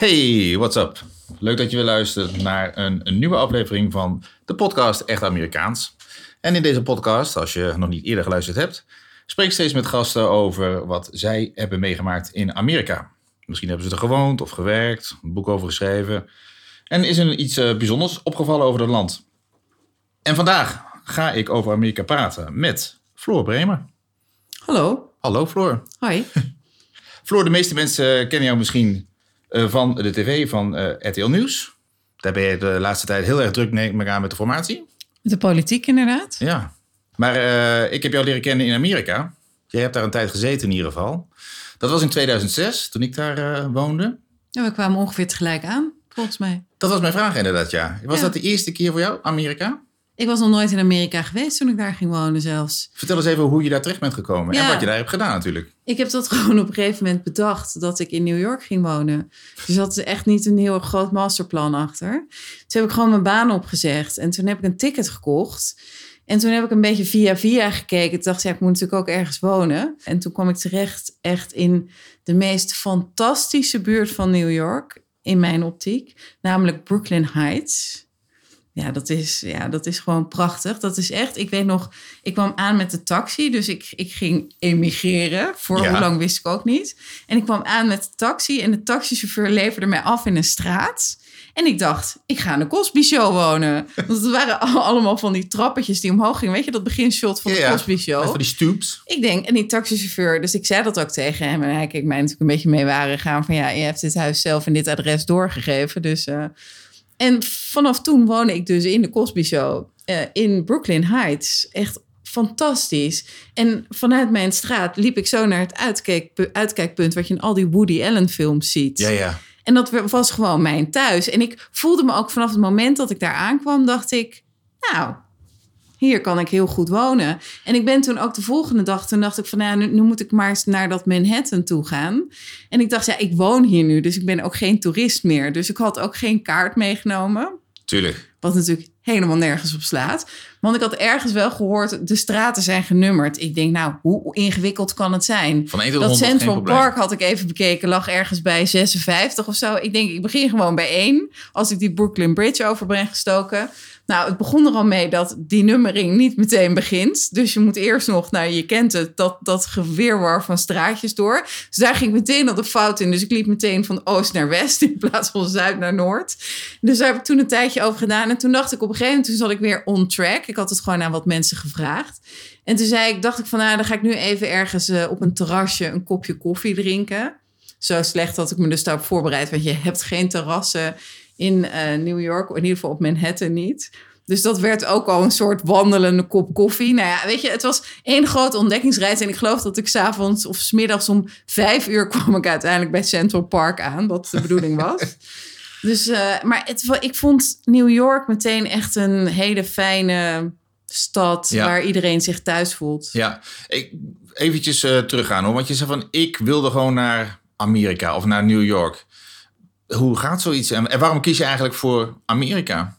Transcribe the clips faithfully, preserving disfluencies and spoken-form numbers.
Hey, what's up? Leuk dat je weer luistert naar een, een nieuwe aflevering van de podcast Echt Amerikaans. En in deze podcast, als je nog niet eerder geluisterd hebt, spreek ik steeds met gasten over wat zij hebben meegemaakt in Amerika. Misschien hebben ze er gewoond of gewerkt, een boek over geschreven. En is er iets uh, bijzonders opgevallen over het land. En vandaag ga ik over Amerika praten met Floor Bremer. Hallo. Hallo Floor. Hoi. Floor, de meeste mensen kennen jou misschien uh, van de tv van uh, R T L Nieuws. Daar ben je de laatste tijd heel erg druk neem ik aan met de formatie. Met de politiek inderdaad. Ja, maar uh, ik heb jou leren kennen in Amerika. Jij hebt daar een tijd gezeten in ieder geval. Dat was in tweeduizend zes, toen ik daar uh, woonde. Ja, we kwamen ongeveer tegelijk aan, volgens mij. Dat was mijn vraag inderdaad, ja. Was ja. dat de eerste keer voor jou, Amerika? Ik was nog nooit in Amerika geweest toen ik daar ging wonen zelfs. Vertel eens even hoe je daar terecht bent gekomen ja. en wat je daar hebt gedaan natuurlijk. Ik heb dat gewoon op een gegeven moment bedacht dat ik in New York ging wonen. Dus dat is echt niet een heel groot masterplan achter. Toen heb ik gewoon mijn baan opgezegd en toen heb ik een ticket gekocht. En toen heb ik een beetje via via gekeken. Toen dacht ik, ja, ik moet natuurlijk ook ergens wonen. En toen kwam ik terecht echt in de meest fantastische buurt van New York, in mijn optiek. Namelijk Brooklyn Heights. Ja, dat is, ja, dat is gewoon prachtig. Dat is echt, ik weet nog, ik kwam aan met de taxi. Dus ik, ik ging emigreren. Voor ja. hoe lang wist ik ook niet. En ik kwam aan met de taxi. En de taxichauffeur leverde mij af in een straat. En ik dacht, ik ga in de Cosby Show wonen. Want het waren allemaal van die trappetjes die omhoog gingen. Weet je, dat beginshot van de ja, Cosby Show. Van die stoops. Ik denk, en die taxichauffeur, dus ik zei dat ook tegen hem. En hij keek mij natuurlijk een beetje mee waren gaan van ja, je hebt dit huis zelf en dit adres doorgegeven. Dus... Uh, En vanaf toen woonde ik dus in de Cosby Show uh, in Brooklyn Heights. Echt fantastisch. En vanuit mijn straat liep ik zo naar het uitkijk, uitkijkpunt wat je in al die Woody Allen films ziet. Ja, ja. En dat was gewoon mijn thuis. En ik voelde me ook vanaf het moment dat ik daar aankwam, dacht ik, nou, hier kan ik heel goed wonen. En ik ben toen ook de volgende dag, toen dacht ik van, nou, nu, nu moet ik maar eens naar dat Manhattan toe gaan. En ik dacht, ja, ik woon hier nu, dus ik ben ook geen toerist meer. Dus ik had ook geen kaart meegenomen. Tuurlijk. Wat natuurlijk helemaal nergens op slaat. Want ik had ergens wel gehoord, de straten zijn genummerd. Ik denk, nou, hoe ingewikkeld kan het zijn? Van één tot dat honderd, Central Park had ik even bekeken, lag ergens bij zesenvijftig of zo. Ik denk, ik begin gewoon bij één. Als ik die Brooklyn Bridge over ben gestoken. Nou, het begon er al mee dat die nummering niet meteen begint. Dus je moet eerst nog, nou, je kent het, dat, dat gewirwar van straatjes door. Dus daar ging ik meteen al de fout in. Dus ik liep meteen van oost naar west in plaats van zuid naar noord. Dus daar heb ik toen een tijdje over gedaan. En toen dacht ik op een gegeven moment, toen zat ik weer on track. Ik had het gewoon aan wat mensen gevraagd. En toen zei ik, dacht ik van, nou, dan ga ik nu even ergens uh, op een terrasje een kopje koffie drinken. Zo slecht dat ik me dus daarop voorbereid. Want je hebt geen terrassen in uh, New York, in ieder geval op Manhattan niet. Dus dat werd ook al een soort wandelende kop koffie. Nou ja, weet je, het was één grote ontdekkingsreis. En ik geloof dat ik 's avonds of 's middags om vijf uur kwam ik uiteindelijk bij Central Park aan. Wat de bedoeling was. Dus, uh, maar het, ik vond New York meteen echt een hele fijne stad, ja, waar iedereen zich thuis voelt. Ja, ik, eventjes uh, teruggaan hoor. Want je zei van, ik wilde gewoon naar Amerika of naar New York. Hoe gaat zoiets? En waarom kies je eigenlijk voor Amerika?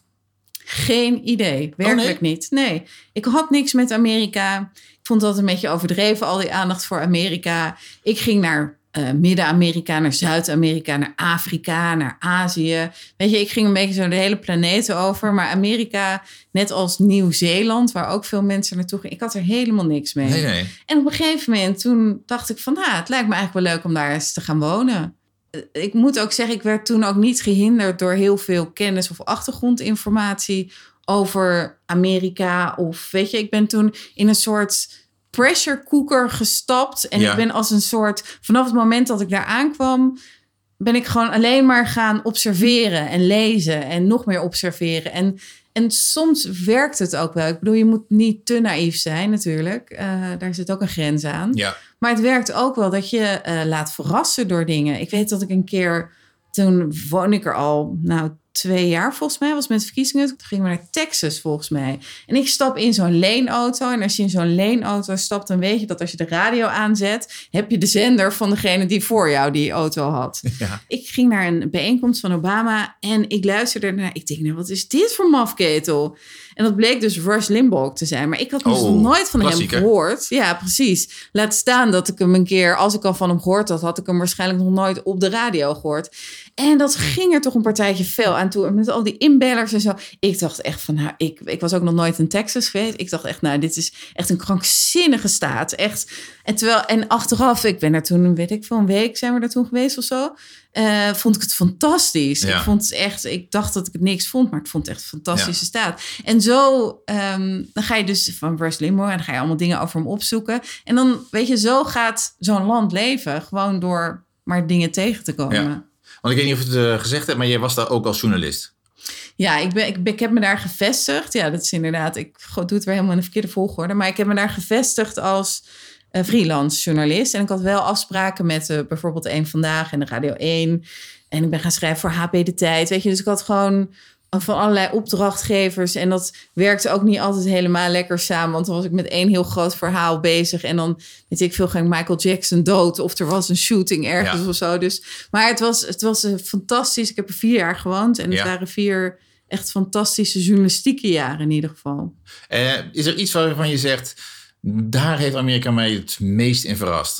Geen idee. Werkelijk oh, nee? niet. Nee, ik had niks met Amerika. Ik vond dat een beetje overdreven, al die aandacht voor Amerika. Ik ging naar uh, Midden-Amerika, naar Zuid-Amerika, naar Afrika, naar Azië. Weet je, ik ging een beetje zo de hele planeet over. Maar Amerika, net als Nieuw-Zeeland, waar ook veel mensen naartoe gingen, ik had er helemaal niks mee. Nee, nee. En op een gegeven moment, toen dacht ik van, nou, het lijkt me eigenlijk wel leuk om daar eens te gaan wonen. Ik moet ook zeggen, ik werd toen ook niet gehinderd door heel veel kennis of achtergrondinformatie over Amerika. Of weet je, ik ben toen in een soort pressure cooker gestapt. En ja. ik ben als een soort, vanaf het moment dat ik daar aankwam, ben ik gewoon alleen maar gaan observeren en lezen en nog meer observeren. En, en soms werkt het ook wel. Ik bedoel, je moet niet te naïef zijn natuurlijk. Uh, daar zit ook een grens aan. Ja. Maar het werkt ook wel dat je uh, laat verrassen door dingen. Ik weet dat ik een keer, toen woonde ik er al, nou, twee jaar volgens mij, was met verkiezingen. Toen gingen we naar Texas volgens mij. En ik stap in zo'n leenauto. En als je in zo'n leenauto stapt, dan weet je dat als je de radio aanzet, heb je de zender van degene die voor jou die auto had. Ja. Ik ging naar een bijeenkomst van Obama en ik luisterde naar. Ik denk, nou, wat is dit voor mafketel? En dat bleek dus Rush Limbaugh te zijn. Maar ik had dus oh, nog nooit van klassieker. hem gehoord. Ja, precies. Laat staan dat ik hem een keer, als ik al van hem gehoord had, had ik hem waarschijnlijk nog nooit op de radio gehoord. En dat ging er toch een partijtje veel aan toe. Met al die inbellers en zo. Ik dacht echt van, nou, ik, ik was ook nog nooit in Texas geweest. Ik dacht echt, nou, dit is echt een krankzinnige staat. Echt. En, terwijl, en achteraf, ik ben er toen, weet ik veel, een week zijn we daar toen geweest of zo. Uh, vond ik het fantastisch. Ja. Ik vond het echt, ik dacht dat ik het niks vond, maar ik vond het echt een fantastische ja. staat. En zo, um, dan ga je dus van Rush Limbaugh en dan ga je allemaal dingen over hem opzoeken. En dan, weet je, zo gaat zo'n land leven. Gewoon door maar dingen tegen te komen. Ja. Want ik weet niet of je het uh, gezegd hebt, maar jij was daar ook als journalist. Ja, ik, ben, ik, ben, ik heb me daar gevestigd. Ja, dat is inderdaad, ik doe het weer helemaal in de verkeerde volgorde. Maar ik heb me daar gevestigd als uh, freelance journalist. En ik had wel afspraken met uh, bijvoorbeeld Eén Vandaag en de Radio één. En ik ben gaan schrijven voor H P De Tijd. Weet je, dus ik had gewoon van allerlei opdrachtgevers. En dat werkte ook niet altijd helemaal lekker samen. Want dan was ik met één heel groot verhaal bezig. En dan, weet ik veel, ging Michael Jackson dood. Of er was een shooting ergens ja. of zo. Dus, maar het was, het was uh, fantastisch. Ik heb er vier jaar gewoond. En het ja. waren vier echt fantastische journalistieke jaren in ieder geval. Uh, is er iets waarvan je zegt, daar heeft Amerika mij het meest in verrast?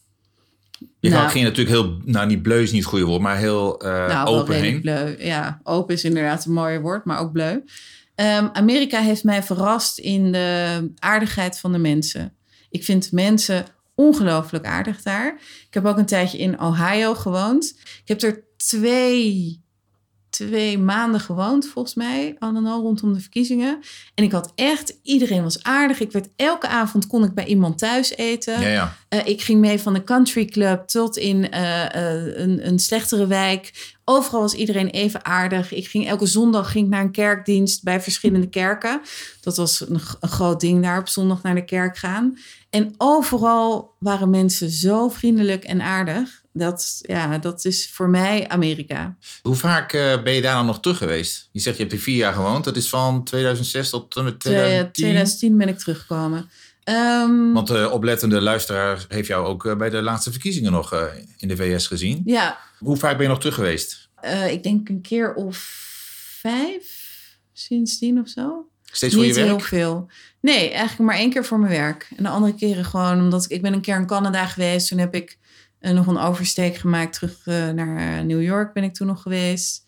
Je nou, ging natuurlijk heel, nou niet bleu is niet het goede woord, maar heel uh, nou, open heen. Bleu. Ja, open is inderdaad een mooi woord, maar ook bleu. Um, Amerika heeft mij verrast in de aardigheid van de mensen. Ik vind mensen ongelooflijk aardig daar. Ik heb ook een tijdje in Ohio gewoond. Ik heb er twee... twee maanden gewoond, volgens mij. Al rondom de verkiezingen. En ik had echt... Iedereen was aardig. Ik werd elke avond kon ik bij iemand thuis eten. Ja, ja. Uh, ik ging mee van de country club tot in uh, uh, een, een slechtere wijk. Overal was iedereen even aardig. Ik ging elke zondag ging ik naar een kerkdienst bij verschillende kerken. Dat was een, een groot ding daar op zondag naar de kerk gaan. En overal waren mensen zo vriendelijk en aardig. Dat, ja, dat is voor mij Amerika. Hoe vaak uh, ben je daar dan nog terug geweest? Je zegt je hebt er vier jaar gewoond. Dat is van tweeduizend zes tot en met tweeduizend tien? tweeduizend tien ben ik teruggekomen. Um, Want de oplettende luisteraar heeft jou ook uh, bij de laatste verkiezingen nog uh, in de V S gezien. Ja. Hoe vaak ben je nog terug geweest? Uh, ik denk een keer of vijf sindsdien of zo. Steeds voor Niet je werk? Niet heel veel. Nee, eigenlijk maar één keer voor mijn werk. En de andere keren gewoon omdat ik... Ik ben een keer in Canada geweest. Toen heb ik uh, nog een oversteek gemaakt. Terug uh, naar uh, New York ben ik toen nog geweest.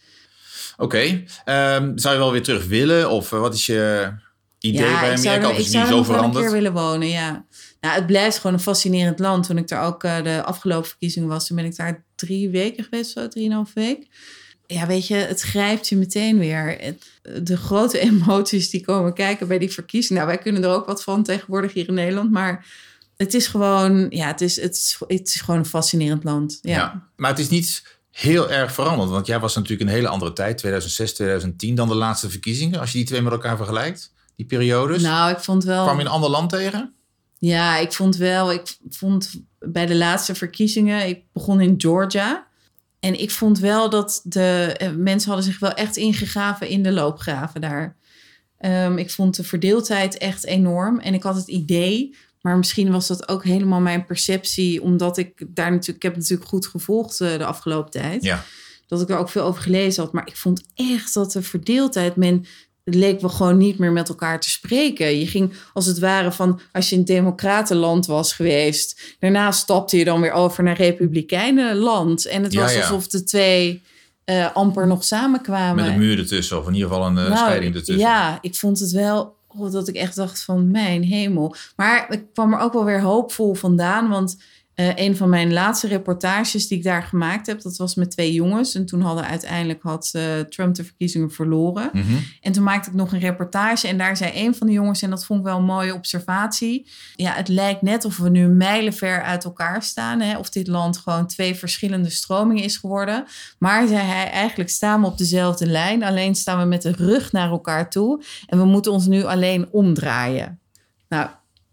Oké. Okay. Um, zou je wel weer terug willen? Of uh, wat is je idee ja, bij Amerika? Of is het nu zo veranderd? Ik zou er nog een keer willen wonen, ja. Nou, het blijft gewoon een fascinerend land. Toen ik daar ook uh, de afgelopen verkiezingen was... toen ben ik daar drie weken geweest, zo drieënhalf week. Ja, weet je, het grijpt je meteen weer. Het, de grote emoties die komen kijken bij die verkiezingen. Nou, wij kunnen er ook wat van tegenwoordig hier in Nederland. Maar het is gewoon, ja, het is, het is, het is gewoon een fascinerend land. Ja. Ja, maar het is niet heel erg veranderd. Want jij was natuurlijk een hele andere tijd, tweeduizend zes, tweeduizend tien... dan de laatste verkiezingen. Als je die twee met elkaar vergelijkt, die periodes. Nou, ik vond wel... Kwam je een ander land tegen? Ja, ik vond wel... Ik vond bij de laatste verkiezingen... Ik begon in Georgia... En ik vond wel dat de uh, mensen hadden zich wel echt ingegraven in de loopgraven daar. Um, ik vond de verdeeldheid echt enorm. En ik had het idee, maar misschien was dat ook helemaal mijn perceptie... omdat ik daar natuurlijk... Ik heb natuurlijk goed gevolgd uh, de afgelopen tijd. Ja. Dat ik er ook veel over gelezen had. Maar ik vond echt dat de verdeeldheid... Men, het leek wel gewoon niet meer met elkaar te spreken. Je ging als het ware van... als je in democratenland was geweest... daarna stapte je dan weer over naar republikeinenland. En het ja, was ja. alsof de twee uh, amper nog samenkwamen. Met een muur ertussen, of in ieder geval een uh, nou, scheiding ertussen. Ja, ik vond het wel... Oh, dat ik echt dacht van mijn hemel. Maar ik kwam er ook wel weer hoopvol vandaan... want Uh, een van mijn laatste reportages die ik daar gemaakt heb... dat was met twee jongens. En toen hadden uiteindelijk had uh, Trump de verkiezingen verloren. Mm-hmm. En toen maakte ik nog een reportage. En daar zei een van de jongens... en dat vond ik wel een mooie observatie... ja, het lijkt net of we nu mijlenver uit elkaar staan. Hè? Of dit land gewoon twee verschillende stromingen is geworden. Maar, zei hij, eigenlijk staan we op dezelfde lijn. Alleen staan we met de rug naar elkaar toe. En we moeten ons nu alleen omdraaien. Nou...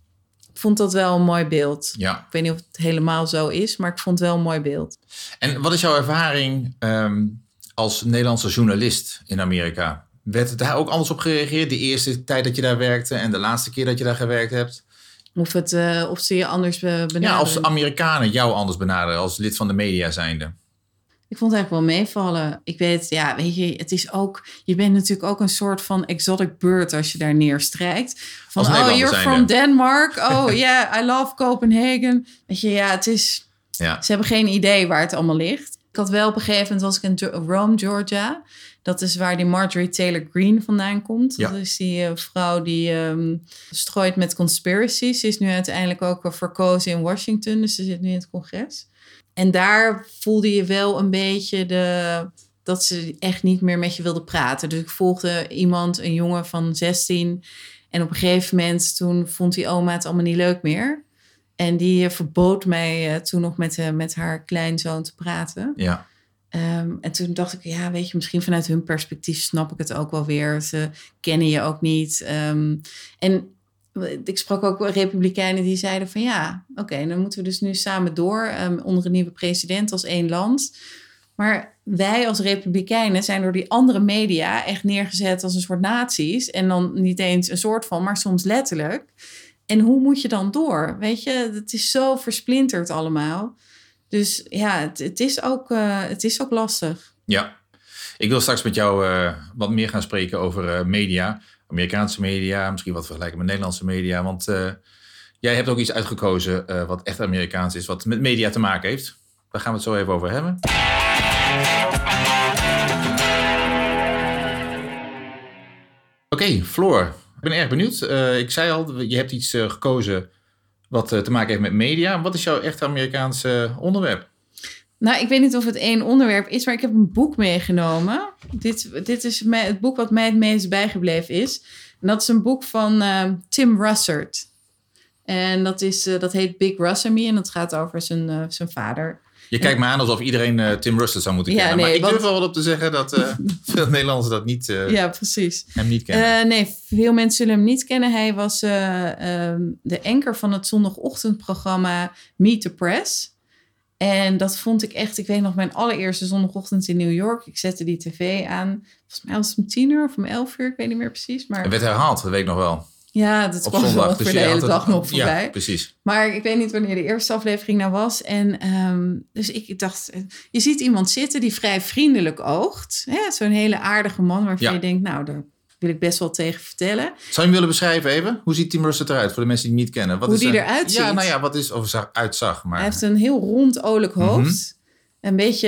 Ik vond dat wel een mooi beeld. Ja. Ik weet niet of het helemaal zo is, maar ik vond het wel een mooi beeld. En wat is jouw ervaring um, als Nederlandse journalist in Amerika? Werd daar ook anders op gereageerd? De eerste tijd dat je daar werkte en de laatste keer dat je daar gewerkt hebt? Of, het, uh, of ze je anders benaderen? Ja, als Amerikanen jou anders benaderen als lid van de media zijnde. Ik vond het eigenlijk wel meevallen. Ik weet, ja, weet je, het is ook... Je bent natuurlijk ook een soort van exotic bird als je daar neerstrijkt. Van, oh, you're zijnde. From Denmark. Oh, yeah, I love Copenhagen. Weet je, ja, het is... Ja. Ze hebben geen idee waar het allemaal ligt. Ik had wel op een gegeven moment, was ik in Rome, Georgia. Dat is waar die Marjorie Taylor Greene vandaan komt. Ja. Dat is die uh, vrouw die um, strooit met conspiracies. Ze is nu uiteindelijk ook verkozen in Washington. Dus ze zit nu in het congres. En daar voelde je wel een beetje de, dat ze echt niet meer met je wilde praten. Dus ik volgde iemand, een jongen van zestien. En op een gegeven moment toen vond die oma het allemaal niet leuk meer. En die uh, verbood mij uh, toen nog met, uh, met haar kleinzoon te praten. Ja. Um, en toen dacht ik, ja, weet je, misschien vanuit hun perspectief snap ik het ook wel weer. Ze kennen je ook niet. Um, en ik sprak ook republikeinen die zeiden van ja, oké, okay, dan moeten we dus nu samen door um, onder een nieuwe president als één land. Maar wij als republikeinen zijn door die andere media echt neergezet als een soort nazi's. En dan niet eens een soort van, maar soms letterlijk. En hoe moet je dan door? Weet je, het is zo versplinterd allemaal. Dus ja, het, het, is, ook, uh, het is ook lastig. Ja, ik wil straks met jou uh, wat meer gaan spreken over uh, media. Amerikaanse media, misschien wat vergelijken met Nederlandse media. Want uh, jij hebt ook iets uitgekozen uh, wat echt Amerikaans is, wat met media te maken heeft. Daar gaan we het zo even over hebben. Oké, okay, Floor. Ik ben erg benieuwd. Uh, ik zei al, je hebt iets uh, gekozen wat uh, te maken heeft met media. Wat is jouw echt Amerikaanse uh, onderwerp? Nou, ik weet niet of het één onderwerp is, maar ik heb een boek meegenomen. Dit, dit is mij, het boek wat mij het meest bijgebleven is. En dat is een boek van uh, Tim Russert. En dat, is, uh, dat heet Big Russ and Me en dat gaat over zijn, uh, zijn vader. Je kijkt me aan alsof iedereen uh, Tim Russert zou moeten kennen. Ja, nee, maar ik want... durf er wel op te zeggen dat uh, veel Nederlanders dat niet, uh, ja, precies. hem niet kennen. Uh, nee, veel mensen zullen hem niet kennen. Hij was uh, uh, de anker van het zondagochtendprogramma Meet the Press. En dat vond ik echt, ik weet nog, mijn allereerste zondagochtend in New York. Ik zette die tv aan. Volgens mij was het om tien uur of om elf uur, ik weet niet meer precies. Maar... Het werd herhaald, dat weet ik nog wel. Ja, dat kwam zondag, wel voor dus de hele dag nog voorbij. Ja, precies. Maar ik weet niet wanneer de eerste aflevering nou was. En um, dus ik dacht, je ziet iemand zitten die vrij vriendelijk oogt. Zo'n hele aardige man waarvan ja. je denkt, nou, daar wil ik best wel tegen vertellen. Zou je hem willen beschrijven even? Hoe ziet Tim Russert eruit voor de mensen die hem niet kennen? Wat Hoe is die er... eruit ziet? Ja, nou ja, wat is, of zag, uitzag. Maar... Hij heeft een heel rond, olijk hoofd. Mm-hmm. Een beetje,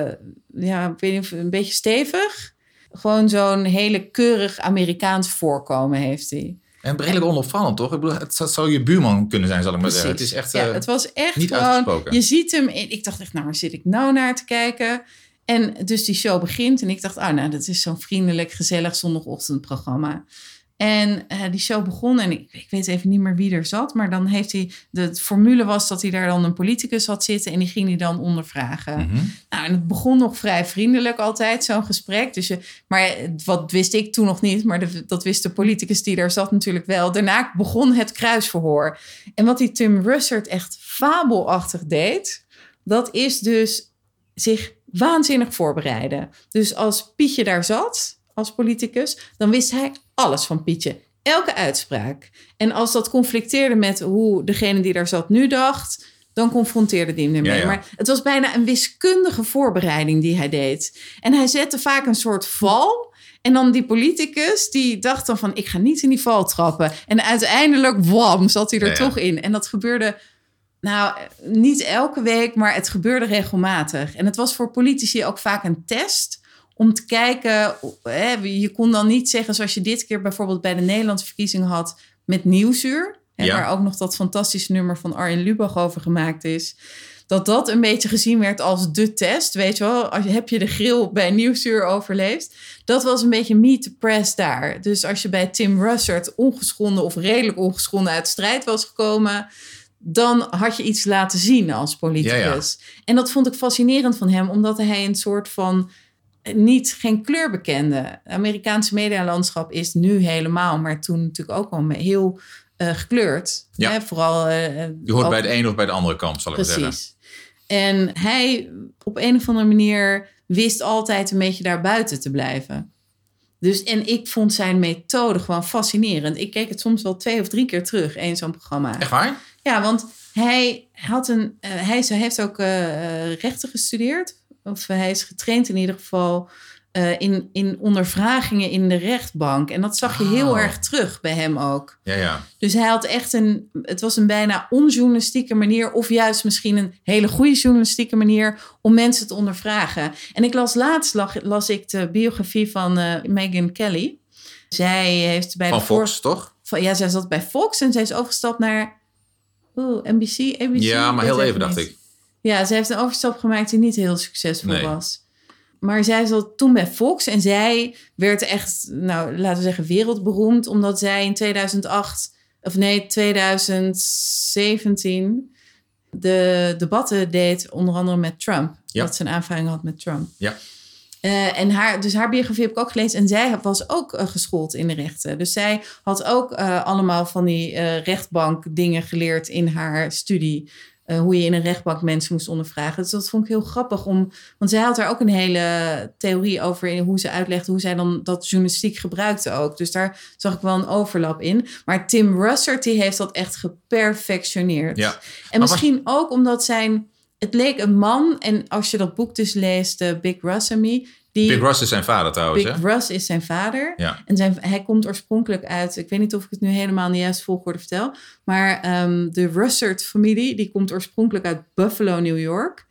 ja, ik weet niet of een beetje stevig. Gewoon zo'n hele keurig Amerikaans voorkomen heeft hij. En redelijk onopvallend, toch? Ik bedoel, het zou je buurman kunnen zijn, zal ik maar zeggen. Het is echt ja, het was echt niet gewoon, uitgesproken. Je ziet hem, ik dacht echt, nou, waar zit ik nou naar te kijken? En dus die show begint en ik dacht, ah, nou, dat is zo'n vriendelijk, gezellig zondagochtendprogramma. En uh, die show begon en ik, ik weet even niet meer wie er zat, maar dan heeft hij, de formule was dat hij daar dan een politicus had zitten en die ging hij dan ondervragen. Mm-hmm. Nou, en het begon nog vrij vriendelijk altijd, zo'n gesprek. Dus je, maar wat wist ik toen nog niet, maar de, dat wist de politicus die daar zat natuurlijk wel. Daarna begon het kruisverhoor. En wat die Tim Russert echt fabelachtig deed, dat is dus zich waanzinnig voorbereiden. Dus als Pietje daar zat, als politicus, dan wist hij alles van Pietje. Elke uitspraak. En als dat conflicteerde met hoe degene die daar zat nu dacht, dan confronteerde hij hem ermee. Ja, ja. Maar het was bijna een wiskundige voorbereiding die hij deed. En hij zette vaak een soort val. En dan die politicus, die dacht dan van, ik ga niet in die val trappen. En uiteindelijk, wam, zat hij er ja, toch ja. in. En dat gebeurde, nou, niet elke week, maar het gebeurde regelmatig. En het was voor politici ook vaak een test om te kijken, hè, je kon dan niet zeggen, zoals je dit keer bijvoorbeeld bij de Nederlandse verkiezingen had, met Nieuwsuur, hè, ja. waar ook nog dat fantastische nummer van Arjen Lubach over gemaakt is, dat dat een beetje gezien werd als de test, weet je wel, als je, heb je de grill bij Nieuwsuur overleefd. Dat was een beetje meet the press daar. Dus als je bij Tim Russert ongeschonden of redelijk ongeschonden uit de strijd was gekomen, dan had je iets laten zien als politicus. Ja, ja. En dat vond ik fascinerend van hem, omdat hij een soort van niet geen kleur bekende. Het Amerikaanse medialandschap is nu helemaal, maar toen natuurlijk ook al heel uh, gekleurd. Ja. Hè? Vooral, uh, je hoort al bij de ene of bij de andere kant, zal ik maar zeggen. Precies. En hij op een of andere manier wist altijd een beetje daar buiten te blijven. Dus, en ik vond zijn methode gewoon fascinerend. Ik keek het soms wel twee of drie keer terug, één zo'n programma. Echt waar? Ja, want hij had een, uh, hij heeft ook uh, rechten gestudeerd. Of hij is getraind in ieder geval uh, in, in ondervragingen in de rechtbank. En dat zag je heel Oh. erg terug bij hem ook. Ja, ja. Dus hij had echt een... Het was een bijna onjournalistieke manier... of juist misschien een hele goede journalistieke manier... om mensen te ondervragen. En ik las laatst las, las ik de biografie van uh, Megyn Kelly. Zij heeft bij Van de Fox, voor... toch? Van, ja, zij zat bij Fox en zij is overgestapt naar... Oeh, N B C, A B C? Ja, maar Weet heel even niet. dacht ik. Ja, zij heeft een overstap gemaakt die niet heel succesvol Nee. was. Maar zij zat toen bij Fox en zij werd echt, nou, laten we zeggen, wereldberoemd. Omdat zij in tweeduizend acht, of nee, tweeduizend zeventien de debatten deed, onder andere met Trump. Ja. Dat ze een aanvaring had met Trump. Ja. Uh, en haar, dus haar biografie heb ik ook gelezen. En zij was ook uh, geschoold in de rechten. Dus zij had ook uh, allemaal van die uh, rechtbank dingen geleerd in haar studie. Uh, hoe je in een rechtbank mensen moest ondervragen. Dus dat vond ik heel grappig. Om, want zij had daar ook een hele theorie over... in hoe ze uitlegde hoe zij dan dat journalistiek gebruikte ook. Dus daar zag ik wel een overlap in. Maar Tim Russert, die heeft dat echt geperfectioneerd. Ja. En misschien was... ook omdat zijn... Het leek een man, en als je dat boek dus leest, uh, Big Russ and Me... Die, Big Russ is zijn vader trouwens, Big hè? Russ is zijn vader. Ja. En zijn, hij komt oorspronkelijk uit... Ik weet niet of ik het nu helemaal in de juiste volgorde vertel. Maar um, de Russert-familie, die komt oorspronkelijk uit Buffalo, New York.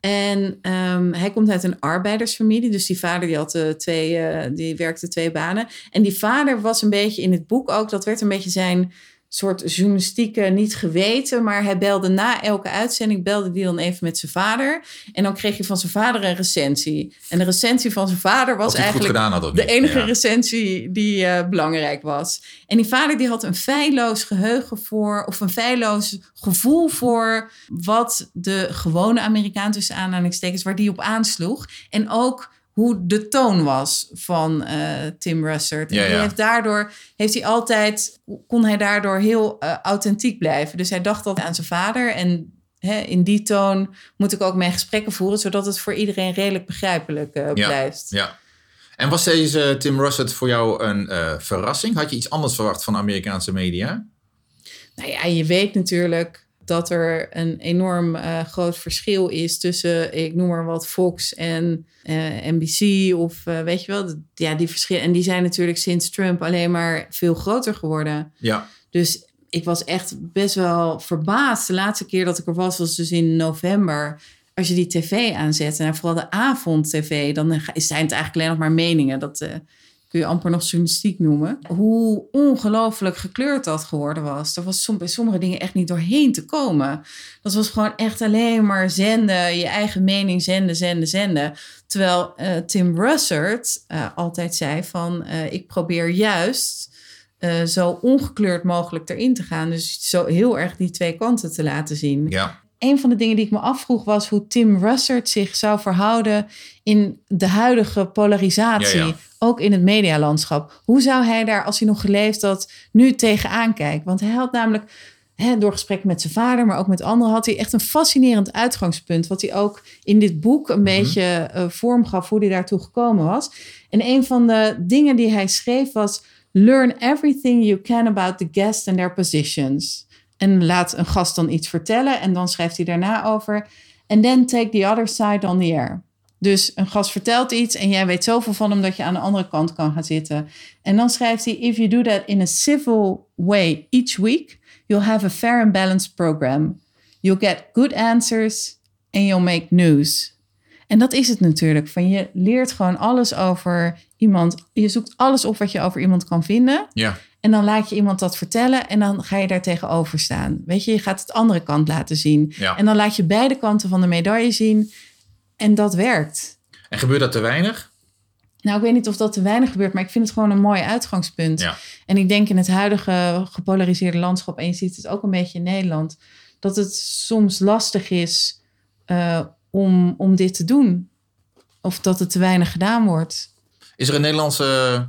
En um, hij komt uit een arbeidersfamilie. Dus die vader die had uh, twee, uh, die werkte twee banen. En die vader was een beetje in het boek ook... Dat werd een beetje zijn... soort journalistieke, niet geweten, maar hij belde na elke uitzending, belde die dan even met zijn vader. En dan kreeg je van zijn vader een recensie. En de recensie van zijn vader was eigenlijk had, de enige ja. recensie die uh, belangrijk was. En die vader die had een feilloos geheugen voor, of een feilloos gevoel voor wat de gewone Amerikaan tussen aanhalingstekens, waar die op aansloeg. En ook hoe de toon was van uh, Tim Russert. En ja, ja. die heeft daardoor heeft hij altijd, kon hij daardoor heel uh, authentiek blijven. Dus hij dacht altijd aan zijn vader. En hè, in die toon moet ik ook mijn gesprekken voeren, zodat het voor iedereen redelijk begrijpelijk uh, blijft. Ja, ja. En was deze Tim Russert voor jou een uh, verrassing? Had je iets anders verwacht van Amerikaanse media? Nou ja, je weet natuurlijk dat er een enorm uh, groot verschil is tussen, ik noem maar wat, Fox en uh, N B C of uh, weet je wel. Ja, die verschillen. En die zijn natuurlijk sinds Trump alleen maar veel groter geworden. Ja. Dus ik was echt best wel verbaasd. De laatste keer dat ik er was, was dus in november. Als je die tv aanzet, en vooral de avond-tv, dan zijn het eigenlijk alleen nog maar meningen. Dat uh, kun je amper nog journalistiek noemen. Hoe ongelooflijk gekleurd dat geworden was. Er was som, bij sommige dingen echt niet doorheen te komen. Dat was gewoon echt alleen maar zenden, je eigen mening zenden, zenden, zenden. Terwijl uh, Tim Russert uh, altijd zei van, uh, ik probeer juist uh, zo ongekleurd mogelijk erin te gaan. Dus zo heel erg die twee kanten te laten zien. Ja. Een van de dingen die ik me afvroeg was hoe Tim Russert zich zou verhouden in de huidige polarisatie. Ja, ja. Ook in het medialandschap. Hoe zou hij daar, als hij nog geleefd had, nu tegenaan kijken? Want hij had namelijk, hè, door gesprekken met zijn vader, maar ook met anderen, had hij echt een fascinerend uitgangspunt. Wat hij ook in dit boek een mm-hmm. beetje uh, vorm gaf hoe hij daartoe gekomen was. En een van de dingen die hij schreef was: learn everything you can about the guest and their positions. En laat een gast dan iets vertellen. En dan schrijft hij daarna over. And then take the other side on the air. Dus een gast vertelt iets en jij weet zoveel van hem dat je aan de andere kant kan gaan zitten. En dan schrijft hij: if you do that in a civil way each week, you'll have a fair and balanced program. You'll get good answers and you'll make news. En dat is het natuurlijk. Van je leert gewoon alles over iemand. Je zoekt alles op wat je over iemand kan vinden. Ja. En dan laat je iemand dat vertellen en dan ga je daar tegenover staan. Weet je, je gaat het andere kant laten zien. Ja. En dan laat je beide kanten van de medaille zien. En dat werkt. En gebeurt dat te weinig? Nou, ik weet niet of dat te weinig gebeurt, maar ik vind het gewoon een mooi uitgangspunt. Ja. En ik denk in het huidige gepolariseerde landschap, en je ziet het ook een beetje in Nederland, dat het soms lastig is uh, om, om dit te doen. Of dat het te weinig gedaan wordt. Is er een Nederlandse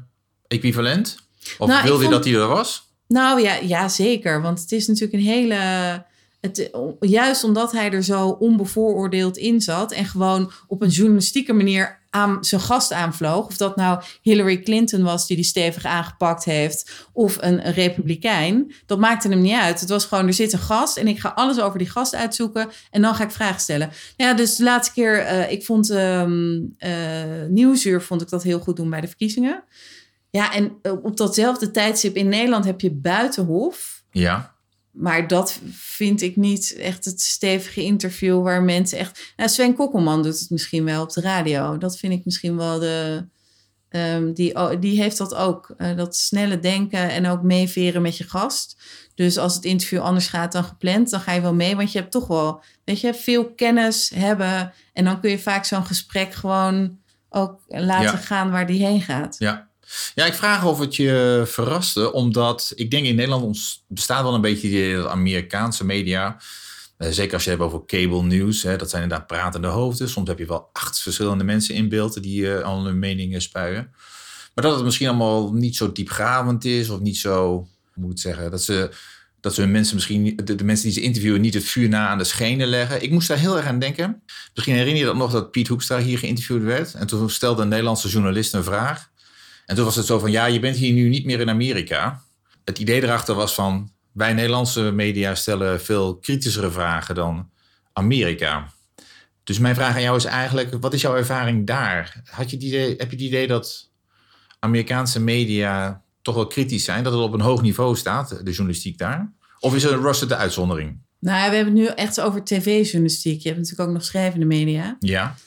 equivalent? Of nou, wilde je vond, dat die er was? Nou ja, ja, zeker. Want het is natuurlijk een hele... het, juist omdat hij er zo onbevooroordeeld in zat en gewoon op een journalistieke manier aan zijn gast aanvloog. Of dat nou Hillary Clinton was die die stevig aangepakt heeft of een, een republikein. Dat maakte hem niet uit. Het was gewoon, er zit een gast en ik ga alles over die gast uitzoeken en dan ga ik vragen stellen. Ja, dus de laatste keer, uh, ik vond um, uh, Nieuwsuur vond ik dat heel goed doen bij de verkiezingen. Ja, en op datzelfde tijdstip in Nederland heb je Buitenhof. Ja. Maar dat vind ik niet echt het stevige interview waar mensen echt... Nou, Sven Kokkelman doet het misschien wel op de radio. Dat vind ik misschien wel de... Um, die, oh, die heeft dat ook. Uh, dat snelle denken en ook meeveren met je gast. Dus als het interview anders gaat dan gepland, dan ga je wel mee. Want je hebt toch wel, weet je, veel kennis hebben. En dan kun je vaak zo'n gesprek gewoon ook laten ja. gaan waar die heen gaat. Ja. Ja, ik vraag of het je verraste, omdat ik denk in Nederland ons bestaat wel een beetje de Amerikaanse media. Uh, zeker als je het hebt over cable news, hè, dat zijn inderdaad pratende hoofden. Soms heb je wel acht verschillende mensen in beeld die uh, al hun meningen spuien. Maar dat het misschien allemaal niet zo diepgravend is of niet zo, hoe moet ik het zeggen, dat ze, dat ze hun mensen misschien, de, de mensen die ze interviewen niet het vuur na aan de schenen leggen. Ik moest daar heel erg aan denken. Misschien herinner je dat nog dat Piet Hoekstra hier geïnterviewd werd. En toen stelde een Nederlandse journalist een vraag. En toen was het zo van, ja, je bent hier nu niet meer in Amerika. Het idee erachter was van, wij Nederlandse media stellen veel kritischere vragen dan Amerika. Dus mijn vraag aan jou is eigenlijk, wat is jouw ervaring daar? Had je het idee, heb je het idee dat Amerikaanse media toch wel kritisch zijn? Dat het op een hoog niveau staat, de journalistiek daar? Of is er Russell de uitzondering? Nou, we hebben het nu echt over tv-journalistiek. Je hebt natuurlijk ook nog schrijvende media. Ja.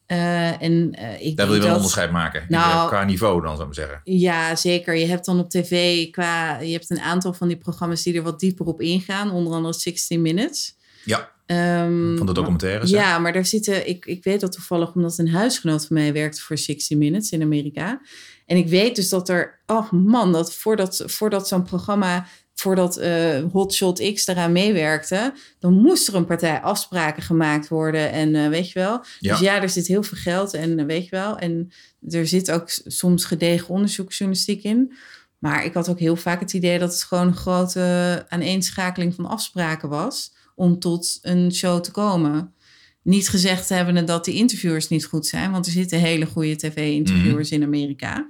Uh, en, uh, ik Daar wil je wel dat, een onderscheid maken, nou, qua niveau dan, zou ik maar zeggen. Ja, zeker. Je hebt dan op tv, qua, je hebt een aantal van die programma's die er wat dieper op ingaan. Onder andere sixty minutes. Ja, um, van de documentaires. Ja, hè? Maar daar zitten, ik, ik weet dat toevallig omdat een huisgenoot van mij werkte voor sixty minutes in Amerika. En ik weet dus dat er, oh man, dat voordat, voordat zo'n programma... voordat uh, Hotshot X eraan meewerkte, dan moest er een partij afspraken gemaakt worden. En uh, weet je wel. Ja. Dus ja, er zit heel veel geld en uh, weet je wel. En er zit ook soms gedegen onderzoeksjournalistiek in. Maar ik had ook heel vaak het idee dat het gewoon een grote aaneenschakeling van afspraken was om tot een show te komen. Niet gezegd hebben dat die interviewers niet goed zijn, want er zitten hele goede tv-interviewers mm-hmm. in Amerika.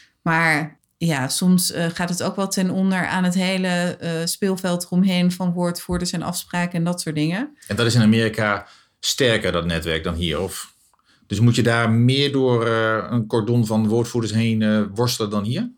Maar ja, soms uh, gaat het ook wel ten onder aan het hele uh, speelveld eromheen van woordvoerders en afspraken en dat soort dingen. En dat is in Amerika sterker, dat netwerk, dan hier? Of? Dus moet je daar meer door uh, een cordon van woordvoerders heen uh, worstelen dan hier?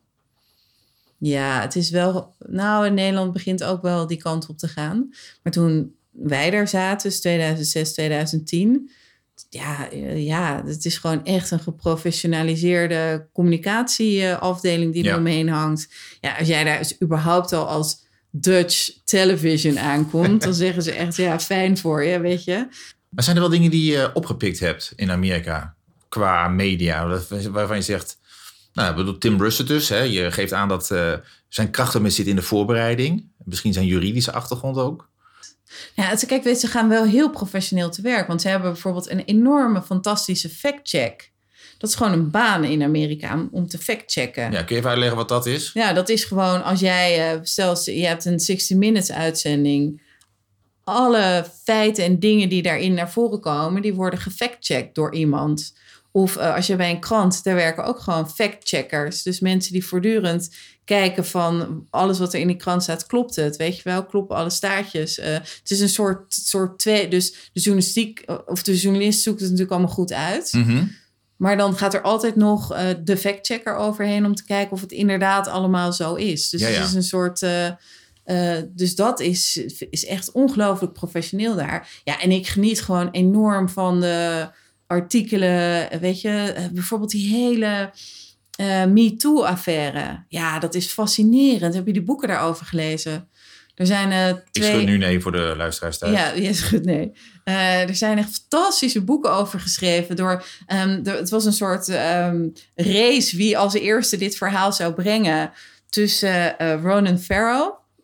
Ja, het is wel... Nou, in Nederland begint ook wel die kant op te gaan. Maar toen wij daar zaten, dus tweeduizend zes, tweeduizend tien... Ja, ja, het is gewoon echt een geprofessionaliseerde communicatieafdeling die er ja. omheen hangt. Ja, als jij daar dus überhaupt al als Dutch television aankomt, dan zeggen ze echt, ja, fijn voor je, weet je. Maar zijn er wel dingen die je opgepikt hebt in Amerika qua media, waarvan je zegt, nou, bedoel, Tim Russert dus, hè, je geeft aan dat uh, zijn krachten met zit in de voorbereiding, misschien zijn juridische achtergrond ook. Ja, kijk, weet, ze gaan wel heel professioneel te werk. Want ze hebben bijvoorbeeld een enorme, fantastische fact-check. Dat is gewoon een baan in Amerika om te fact-checken. Ja, kun je even uitleggen wat dat is? Ja, dat is gewoon als jij, stel je hebt een sixty minutes uitzending. Alle feiten en dingen die daarin naar voren komen, die worden gefact-checkt door iemand. Of uh, als je bij een krant, daar werken ook gewoon fact-checkers. Dus mensen die voortdurend kijken van alles wat er in die krant staat, klopt het? Weet je wel, kloppen alle staartjes? Uh, het is een soort, soort twee, dus de journalistiek, of de journalist zoekt het natuurlijk allemaal goed uit. Mm-hmm. Maar dan gaat er altijd nog uh, de fact-checker overheen om te kijken of het inderdaad allemaal zo is. Dus ja, ja. het is een soort... Uh, uh, dus dat is, is echt ongelooflijk professioneel daar. Ja, en ik geniet gewoon enorm van de artikelen, weet je, bijvoorbeeld die hele uh, MeToo-affaire. Ja, dat is fascinerend. Heb je die boeken daarover gelezen? Er zijn uh, twee... Ik schud nu nee voor de luisteraars thuis. Ja, je schudt nee. Uh, er zijn echt fantastische boeken over geschreven. Door, um, door, het was een soort um, race wie als eerste dit verhaal zou brengen tussen uh, Ronan Farrow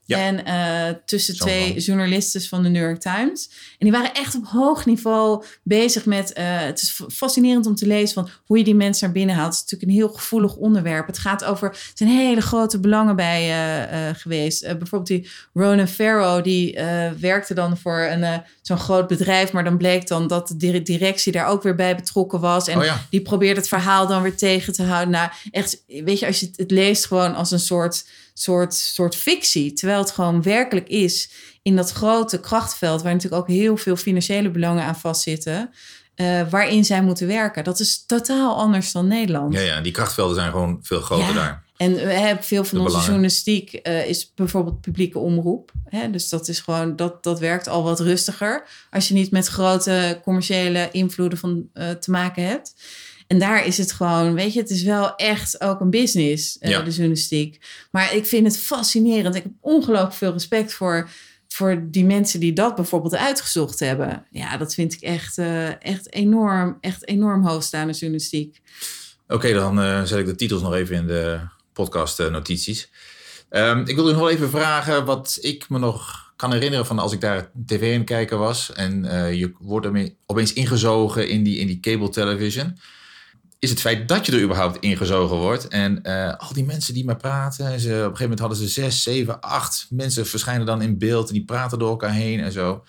Ja. En uh, tussen Zo twee dan. journalisten van de New York Times. En die waren echt op hoog niveau bezig met... Uh, het is fascinerend om te lezen van hoe je die mensen naar binnen haalt. Het is natuurlijk een heel gevoelig onderwerp. Het gaat over... Er zijn hele grote belangen bij uh, uh, geweest. Uh, bijvoorbeeld die Ronan Farrow, die uh, werkte dan voor een, uh, zo'n groot bedrijf. Maar dan bleek dan dat de directie daar ook weer bij betrokken was. En oh ja. die probeerde het verhaal dan weer tegen te houden. Nou, echt, weet je, als je het, het leest gewoon als een soort... soort, soort fictie, terwijl het gewoon werkelijk is in dat grote krachtveld, waar natuurlijk ook heel veel financiële belangen aan vastzitten, uh, waarin zij moeten werken. Dat is totaal anders dan Nederland. Ja, ja, die krachtvelden zijn gewoon veel groter ja. daar. En we hebben veel van De onze belangen. journalistiek uh, is bijvoorbeeld publieke omroep. Hè? Dus dat is gewoon, dat, dat werkt al wat rustiger als je niet met grote commerciële invloeden van, uh, te maken hebt. En daar is het gewoon, weet je, het is wel echt ook een business, uh, ja. de journalistiek. Maar ik vind het fascinerend. Ik heb ongelooflijk veel respect voor, voor die mensen die dat bijvoorbeeld uitgezocht hebben. Ja, dat vind ik echt, uh, echt enorm, echt enorm hoogstaande journalistiek. Oké, okay, dan uh, zet ik de titels nog even in de podcast uh, notities. Um, ik wil u nog wel even vragen wat ik me nog kan herinneren van als ik daar tv aan kijken was. En uh, je wordt ermee opeens ingezogen in die, in die cable television. Is het feit dat je er überhaupt ingezogen wordt. En uh, al die mensen die maar praten. Ze, op een gegeven moment hadden ze zes, zeven, acht mensen verschijnen dan in beeld. En die praten door elkaar heen en zo.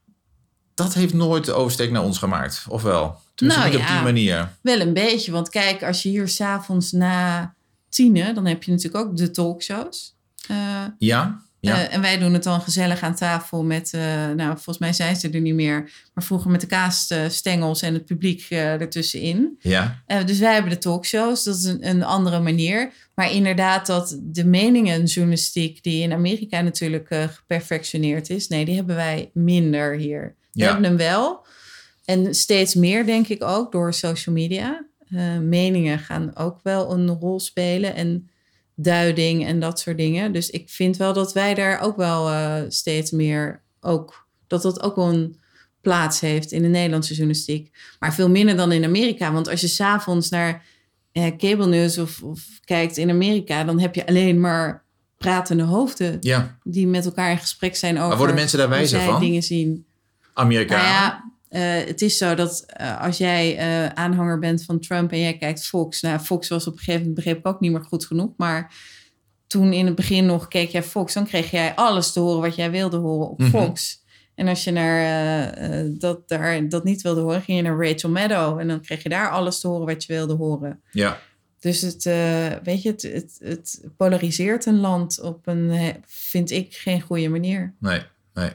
Dat heeft nooit de oversteek naar ons gemaakt. Of wel? Tenminste nou, niet ja, op die manier. Wel een beetje. Want kijk, als je hier 's avonds na tienen, dan heb je natuurlijk ook de talkshows. Uh, ja. Ja. Uh, en wij doen het dan gezellig aan tafel met, uh, nou volgens mij zijn ze er niet meer, maar vroeger met de kaasstengels en het publiek uh, ertussenin. Ja. Uh, dus wij hebben de talkshows, dat is een, een andere manier. Maar inderdaad dat de meningenjournalistiek die in Amerika natuurlijk uh, geperfectioneerd is, nee, die hebben wij minder hier. We ja. hebben hem wel. En steeds meer denk ik ook door social media. Uh, meningen gaan ook wel een rol spelen en duiding en dat soort dingen. Dus ik vind wel dat wij daar ook wel uh, steeds meer ook, dat dat ook wel een plaats heeft in de Nederlandse journalistiek. Maar veel minder dan in Amerika. Want als je 's avonds naar uh, cable news of, of kijkt in Amerika, dan heb je alleen maar pratende hoofden ja. die met elkaar in gesprek zijn over maar worden mensen daar wijzer van? Dingen zien. Amerikanen? Nou ja, Uh, het is zo dat uh, als jij uh, aanhanger bent van Trump en jij kijkt Fox. Nou, Fox was op een gegeven moment, begreep ik ook niet meer goed genoeg. Maar toen in het begin nog keek jij Fox, dan kreeg jij alles te horen wat jij wilde horen op mm-hmm. Fox. En als je naar, uh, uh, dat, daar, dat niet wilde horen, ging je naar Rachel Maddow. En dan kreeg je daar alles te horen wat je wilde horen. Ja. Dus het, uh, weet je, het, het, het polariseert een land op een, vind ik, geen goede manier. Nee, nee.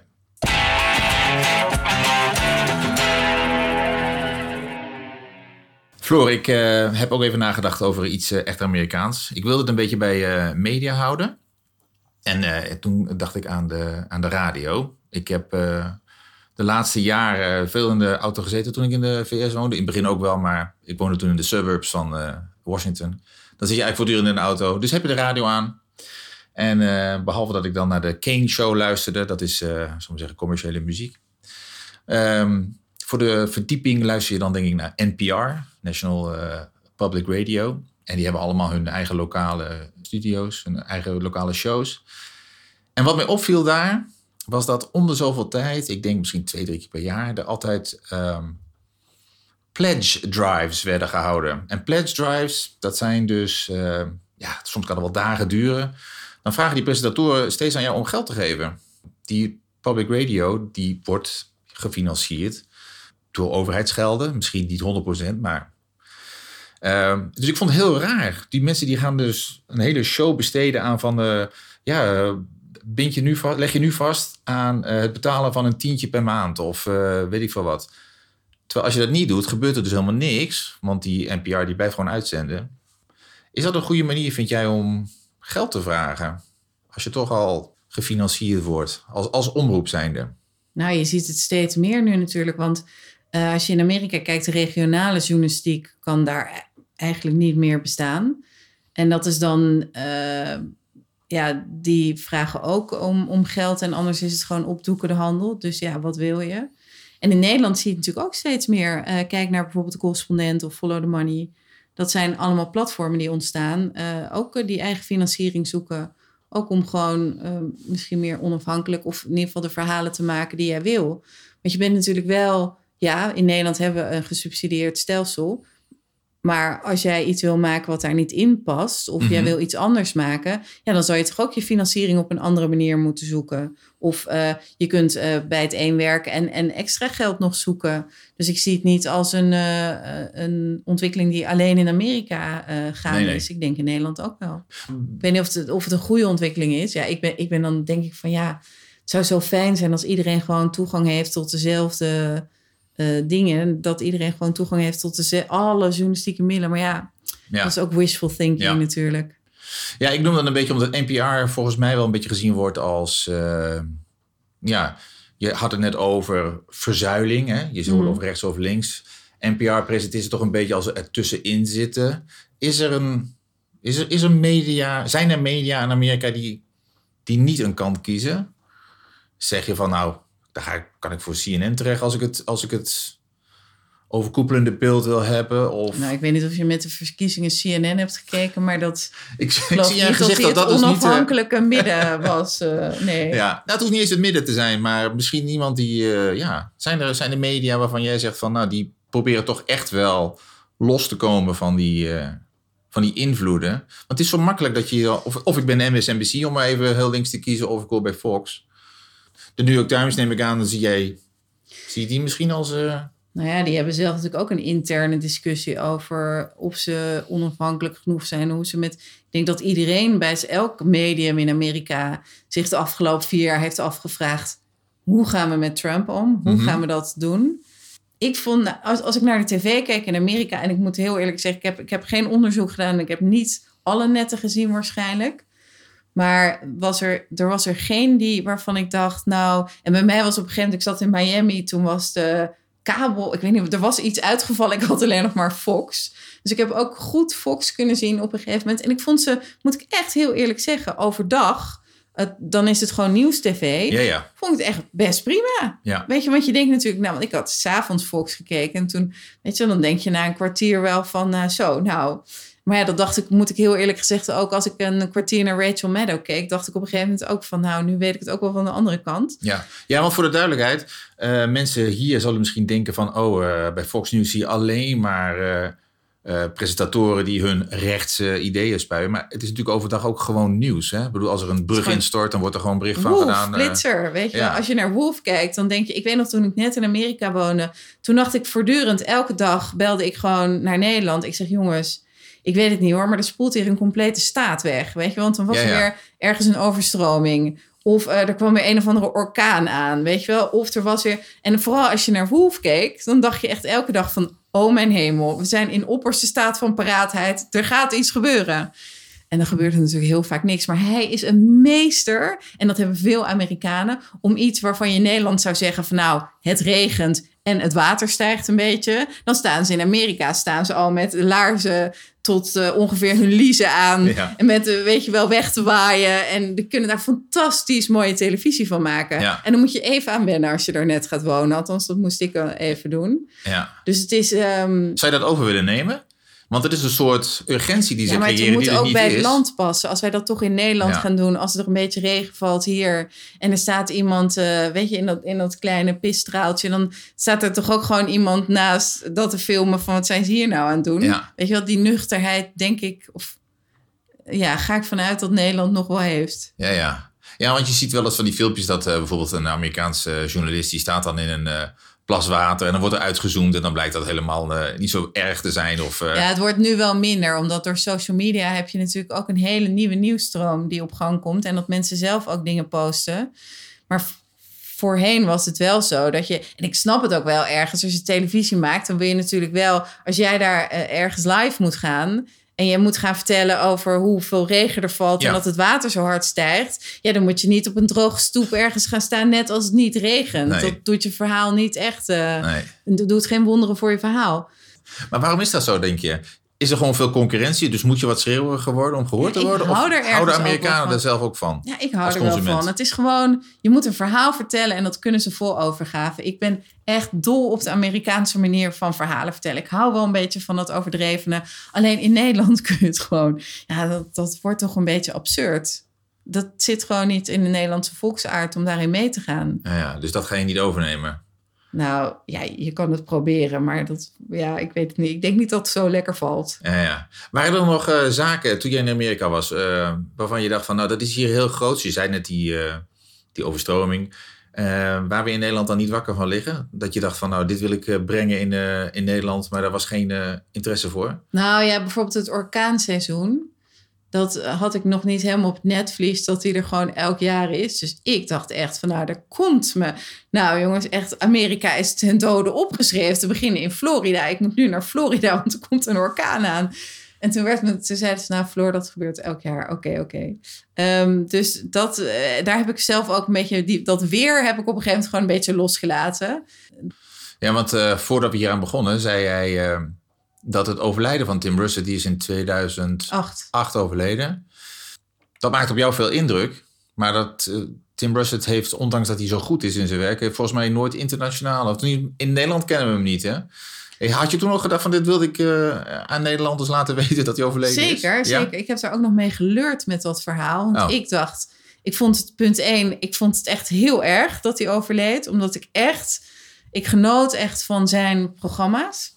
Floor, ik uh, heb ook even nagedacht over iets uh, echt Amerikaans. Ik wilde het een beetje bij uh, media houden. En uh, toen dacht ik aan de, aan de radio. Ik heb uh, de laatste jaren veel in de auto gezeten toen ik in de V S woonde. In het begin ook wel, maar ik woonde toen in de suburbs van uh, Washington. Dan zit je eigenlijk voortdurend in de auto. Dus heb je de radio aan. En uh, behalve dat ik dan naar de Kane Show luisterde. Dat is, uh, zal ik zeggen, commerciële muziek. Um, voor de verdieping luister je dan denk ik naar N P R, National uh, Public Radio. En die hebben allemaal hun eigen lokale studio's, hun eigen lokale shows. En wat mij opviel daar, was dat om de zoveel tijd, ik denk misschien twee, drie keer per jaar, er altijd um, pledge drives werden gehouden. En pledge drives, dat zijn dus, uh, ja, soms kan het wel dagen duren. Dan vragen die presentatoren steeds aan jou om geld te geven. Die public radio, die wordt gefinancierd door overheidsgelden. Misschien niet honderd procent, maar... Uh, dus ik vond het heel raar. Die mensen die gaan dus een hele show besteden aan van... Uh, ja, uh, bind je nu vast, leg je nu vast aan uh, het betalen van een tientje per maand. Of uh, weet ik veel wat. Terwijl als je dat niet doet, gebeurt er dus helemaal niks. Want die N P R die blijft gewoon uitzenden. Is dat een goede manier, vind jij, om geld te vragen? Als je toch al gefinancierd wordt. Als, als omroep zijnde. Nou, je ziet het steeds meer nu natuurlijk. Want uh, als je in Amerika kijkt, de regionale journalistiek kan daar eigenlijk niet meer bestaan. En dat is dan... Uh, ja, die vragen ook om, om geld. En anders is het gewoon opdoeken de handel. Dus ja, wat wil je? En in Nederland zie je het natuurlijk ook steeds meer. Uh, kijk naar bijvoorbeeld de Correspondent of Follow the Money. Dat zijn allemaal platformen die ontstaan. Uh, ook uh, die eigen financiering zoeken Ook om gewoon uh, misschien meer onafhankelijk... of in ieder geval de verhalen te maken die jij wil. Want je bent natuurlijk wel... Ja, in Nederland hebben we een gesubsidieerd stelsel... Maar als jij iets wil maken wat daar niet in past... of mm-hmm. jij wil iets anders maken... ja, dan zou je toch ook je financiering op een andere manier moeten zoeken. Of uh, je kunt uh, bij het een werken en, en extra geld nog zoeken. Dus ik zie het niet als een, uh, een ontwikkeling die alleen in Amerika uh, gaande nee, nee. is. Ik denk in Nederland ook wel. Ik weet niet of het, of het een goede ontwikkeling is. Ja, ik ben, ik ben dan denk ik van ja... het zou zo fijn zijn als iedereen gewoon toegang heeft tot dezelfde... Uh, dingen, dat iedereen gewoon toegang heeft tot de, alle journalistieke middelen. Maar ja, ja, dat is ook wishful thinking ja. natuurlijk. Ja, ik noem dat een beetje omdat N P R volgens mij wel een beetje gezien wordt als... Uh, ja, je had het net over verzuiling. Hè? Je zult mm. over rechts of links. N P R presenteert het toch een beetje als er tussenin zitten. Is er een... Is er, is er media... Zijn er media in Amerika die, die niet een kant kiezen? Zeg je van nou... Daar ga ik, kan ik voor C N N terecht als ik het, als ik het overkoepelende beeld wil hebben. Of... Nou, ik weet niet of je met de verkiezingen C N N hebt gekeken, maar dat ik, ik zie je gezegd dat dat het onafhankelijke dus niet, uh... midden was. Uh, nee. Ja, nou, het hoeft niet eens het midden te zijn, maar misschien iemand die, uh, ja, zijn er, zijn er media waarvan jij zegt van, nou, die proberen toch echt wel los te komen van die, uh, van die invloeden. Want het is zo makkelijk dat je, of, of ik ben M S N B C om maar even heel links te kiezen, of ik hoor bij Fox. De New York Times neem ik aan, dan zie jij... Zie je die misschien als... Uh... Nou ja, die hebben zelf natuurlijk ook een interne discussie over... of ze onafhankelijk genoeg zijn. Hoe ze met... Ik denk dat iedereen bij elk medium in Amerika... zich de afgelopen vier jaar heeft afgevraagd... hoe gaan we met Trump om? Hoe mm-hmm. gaan we dat doen? Ik vond, als, als ik naar de tv keek in Amerika... en ik moet heel eerlijk zeggen... ik heb, ik heb geen onderzoek gedaan... ik heb niet alle netten gezien waarschijnlijk... Maar was er, er was er geen die waarvan ik dacht, nou... En bij mij was op een gegeven moment, ik zat in Miami... toen was de kabel, ik weet niet, er was iets uitgevallen. Ik had alleen nog maar Fox. Dus ik heb ook goed Fox kunnen zien op een gegeven moment. En ik vond ze, moet ik echt heel eerlijk zeggen, overdag... Het, dan is het gewoon nieuws-tv. Ja, ja. Vond ik het echt best prima. Ja. Weet je, want je denkt natuurlijk... Nou, want ik had 's avonds Fox gekeken. En toen, weet je, dan denk je na een kwartier wel van... Uh, zo, nou... Maar ja, dat dacht ik, moet ik heel eerlijk gezegd... ook als ik een kwartier naar Rachel Maddow keek... dacht ik op een gegeven moment ook van... nou, nu weet ik het ook wel van de andere kant. Ja, ja, want voor de duidelijkheid... Uh, mensen hier zullen misschien denken van... oh, uh, bij Fox News zie je alleen maar... Uh, uh, presentatoren die hun rechtse ideeën spuien. Maar het is natuurlijk overdag ook gewoon nieuws. Hè? Ik bedoel, als er een brug gewoon... instort... dan wordt er gewoon bericht van Wolf, gedaan. Uh, Blitzer, weet je ja. wel. Als je naar Wolf kijkt, dan denk je... Ik weet nog, toen ik net in Amerika woonde... toen dacht ik voortdurend, elke dag belde ik gewoon naar Nederland. Ik zeg, jongens... Ik weet het niet hoor, maar er spoelt hier een complete staat weg. Weet je, want dan was ja, ja. er weer ergens een overstroming. Of uh, er kwam weer een of andere orkaan aan, weet je wel. Of er was weer... En vooral als je naar Wolf keek, dan dacht je echt elke dag van... oh mijn hemel, we zijn in opperste staat van paraatheid. Er gaat iets gebeuren. En dan gebeurt er natuurlijk heel vaak niks. Maar hij is een meester, en dat hebben veel Amerikanen... om iets waarvan je in Nederland zou zeggen van... nou, het regent en het water stijgt een beetje. Dan staan ze in Amerika staan ze al met laarzen... tot uh, ongeveer hun liezen aan. Ja. En met, uh, weet je wel, weg te waaien. En die kunnen daar fantastisch mooie televisie van maken. Ja. En dan moet je even aan wennen als je daar net gaat wonen. Althans, dat moest ik even doen. Ja. Dus het is... Um... Zou je dat over willen nemen? Want het is een soort urgentie die ze ja, maar creëren het moet ook bij is. het land passen. Als wij dat toch in Nederland ja. gaan doen... als er een beetje regen valt hier... en er staat iemand, uh, weet je, in dat, in dat kleine pisstraaltje... dan staat er toch ook gewoon iemand naast dat te filmen... van wat zijn ze hier nou aan het doen? Ja. Weet je wel, die nuchterheid, denk ik... of ja, ga ik vanuit dat Nederland nog wel heeft. Ja, ja. Ja, want je ziet wel eens van die filmpjes... dat uh, bijvoorbeeld een Amerikaanse journalist... die staat dan in een... Uh, plas water en dan wordt er uitgezoomd en dan blijkt dat helemaal uh, niet zo erg te zijn. Of, uh... Ja, het wordt nu wel minder, omdat door social media heb je natuurlijk ook een hele nieuwe nieuwsstroom die op gang komt en dat mensen zelf ook dingen posten. Maar v- voorheen was het wel zo dat je, en ik snap het ook wel ergens, als je televisie maakt, dan wil je natuurlijk wel, als jij daar uh, ergens live moet gaan... en je moet gaan vertellen over hoeveel regen er valt... Ja. en dat het water zo hard stijgt... ja, dan moet je niet op een droge stoep ergens gaan staan... net als het niet regent. Nee. Dat doet je verhaal niet echt... Uh, nee. doet geen wonderen voor je verhaal. Maar waarom is dat zo, denk je? Is er gewoon veel concurrentie? Dus moet je wat schreeuweriger worden om gehoord te worden? Ik hou er of houden Amerikanen er zelf ook van? Ja, ik hou er wel van. Het is gewoon... Je moet een verhaal vertellen en dat kunnen ze vol overgave. Ik ben echt dol op de Amerikaanse manier van verhalen vertellen. Ik hou wel een beetje van dat overdrevene. Alleen in Nederland kun je het gewoon... Ja, dat, dat wordt toch een beetje absurd. Dat zit gewoon niet in de Nederlandse volksaard om daarin mee te gaan. Ja, ja, dus dat ga je niet overnemen? Nou, ja, je kan het proberen, maar dat, ja, ik weet het niet. Ik denk niet dat het zo lekker valt. Ja, ja. Waren er nog uh, zaken toen jij in Amerika was, uh, waarvan je dacht van, nou, dat is hier heel groot. Je zei net die, uh, die overstroming. Uh, waar we in Nederland dan niet wakker van liggen? Dat je dacht van, nou, dit wil ik uh, brengen in, uh, in Nederland, maar daar was geen uh, interesse voor? Nou ja, bijvoorbeeld het orkaanseizoen. Dat had ik nog niet helemaal op het netvlies, dat die er gewoon elk jaar is. Dus ik dacht echt van, nou, daar komt me. Nou jongens, echt, Amerika is ten dode opgeschreven. Te beginnen in Florida. Ik moet nu naar Florida, want er komt een orkaan aan. En toen, werd me, toen zeiden ze, nou Floor, dat gebeurt elk jaar. Oké, okay, oké. Okay. Um, dus dat, uh, daar heb ik zelf ook een beetje, die, dat weer heb ik op een gegeven moment gewoon een beetje losgelaten. Ja, want uh, voordat we hier aan begonnen, zei jij... Uh... dat het overlijden van Tim Russert, die is in tweeduizend acht overleden. Dat maakt op jou veel indruk. Maar dat uh, Tim Russert heeft, ondanks dat hij zo goed is in zijn werk... heeft volgens mij nooit internationaal... of in Nederland kennen we hem niet, hè? Hey, had je toen nog gedacht van dit wilde ik uh, aan Nederlanders laten weten dat hij overleden zeker, is? Zeker, ja? zeker. Ik heb daar ook nog mee geleurd met dat verhaal. Want oh. ik dacht, ik vond het punt één... ik vond het echt heel erg dat hij overleed. Omdat ik echt... ik genoot echt van zijn programma's.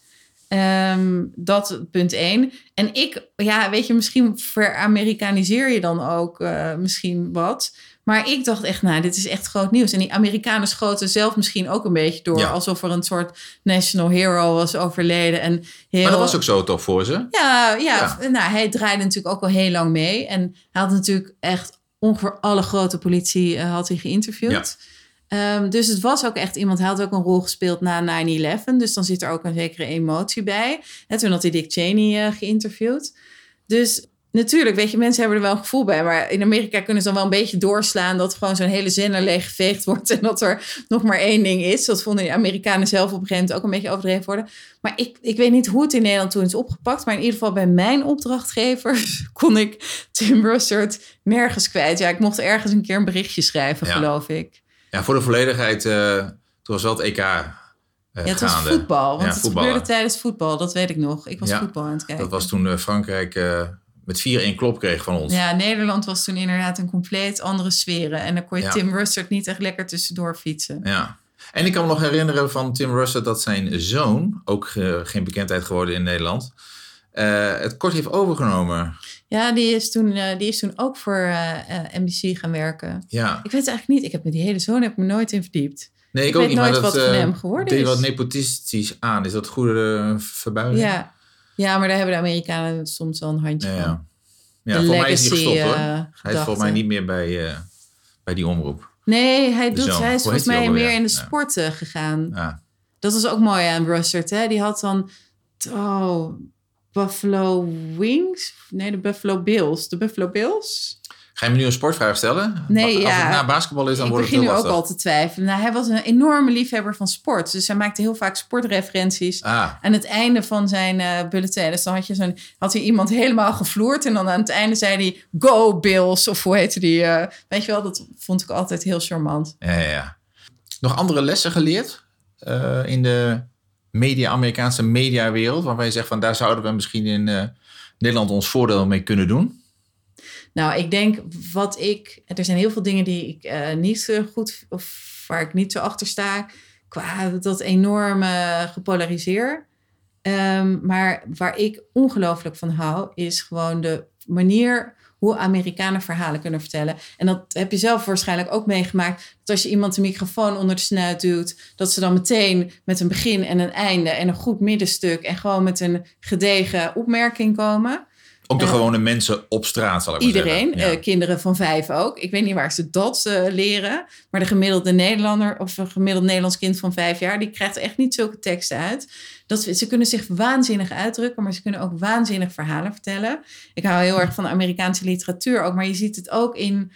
Um, dat punt één. En ik, ja, weet je, misschien veramerikaniseer je dan ook uh, misschien wat. Maar ik dacht echt, nou, dit is echt groot nieuws. En die Amerikanen schoten zelf misschien ook een beetje door. Ja. Alsof er een soort national hero was overleden. En heel... Maar dat was ook zo toch voor ze? Ja, ja, ja. Nou, hij draaide natuurlijk ook al heel lang mee. En hij had natuurlijk echt ongeveer alle grote politie uh, had hij geïnterviewd. Ja. Um, dus het was ook echt iemand, hij had ook een rol gespeeld na nine eleven. Dus dan zit er ook een zekere emotie bij. En toen had hij Dick Cheney uh, geïnterviewd. Dus natuurlijk, weet je, mensen hebben er wel een gevoel bij. Maar in Amerika kunnen ze dan wel een beetje doorslaan... dat gewoon zo'n hele zender leeggeveegd wordt... en dat er nog maar één ding is. Dat vonden de Amerikanen zelf op een gegeven moment ook een beetje overdreven worden. Maar ik, ik weet niet hoe het in Nederland toen is opgepakt... maar in ieder geval bij mijn opdrachtgevers... kon ik Tim Russert nergens kwijt. Ja, ik mocht ergens een keer een berichtje schrijven, ja. geloof ik. Ja, voor de volledigheid, uh, toen was wel het E K uh, Ja, het gaande. was voetbal, want ja, het voetballen. gebeurde tijdens voetbal, dat weet ik nog. Ik was ja, voetbal aan het kijken. Dat was toen uh, Frankrijk uh, met vier-een klop kreeg van ons. Ja, Nederland was toen inderdaad een compleet andere sferen. En dan kon je ja. Tim Russert niet echt lekker tussendoor fietsen. Ja, en ik kan me nog herinneren van Tim Russert dat zijn zoon, ook uh, geen bekendheid geworden in Nederland, uh, het kort heeft overgenomen. Ja, die is toen, uh, die is toen ook voor uh, uh, N B C gaan werken. Ja. Ik weet het eigenlijk niet. Ik heb met die hele zoon heb ik me nooit in verdiept. Nee, ik, ik ook weet niet, nooit maar wat dat, van uh, hem geworden deed is. wat nepotistisch aan. Is dat goede uh, verbuiging? Ja. ja, maar daar hebben de Amerikanen soms wel een handje ja, van. Ja, ja voor mij is hij gestopt hoor. Uh, hij is volgens mij niet meer bij, uh, bij die omroep. Nee, hij, doet, hij is volgens mij meer in de sport uh, gegaan. Ja. Dat was ook mooi aan Russert. Hè? Die had dan... Oh, Buffalo Wings? Nee, de Buffalo Bills. De Buffalo Bills? Ga je me nu een sportvraag stellen? Nee, Als ja. het na basketbal is, dan ik wordt het heel lastig. Ik begin nu ook al te twijfelen. Nou, hij was een enorme liefhebber van sport. Dus hij maakte heel vaak sportreferenties ah. aan het einde van zijn uh, bulletin. Dus dan had, je zo'n, had hij iemand helemaal gevloerd. En dan aan het einde zei hij, go Bills. Of hoe heette die? Uh, weet je wel, dat vond ik altijd heel charmant. Ja, ja, ja. Nog andere lessen geleerd uh, in de media, Amerikaanse mediawereld? Waarvan je zegt, van daar zouden we misschien in uh, Nederland ons voordeel mee kunnen doen? Nou, ik denk wat ik... Er zijn heel veel dingen die ik uh, niet zo goed... of waar ik niet zo achter sta... qua dat enorme gepolariseer. Um, maar waar ik ongelooflijk van hou... is gewoon de manier hoe Amerikanen verhalen kunnen vertellen. En dat heb je zelf waarschijnlijk ook meegemaakt... dat als je iemand de microfoon onder de snuit duwt... dat ze dan meteen met een begin en een einde... en een goed middenstuk... en gewoon met een gedegen opmerking komen... Ook de uh, gewone mensen op straat, zal ik maar iedereen, zeggen. Iedereen, uh, kinderen van vijf ook. Ik weet niet waar ze dat uh, leren. Maar de gemiddelde Nederlander of een gemiddeld Nederlands kind van vijf jaar... die krijgt echt niet zulke teksten uit. Dat, ze kunnen zich waanzinnig uitdrukken... maar ze kunnen ook waanzinnig verhalen vertellen. Ik hou heel erg van Amerikaanse literatuur ook... maar je ziet het ook in...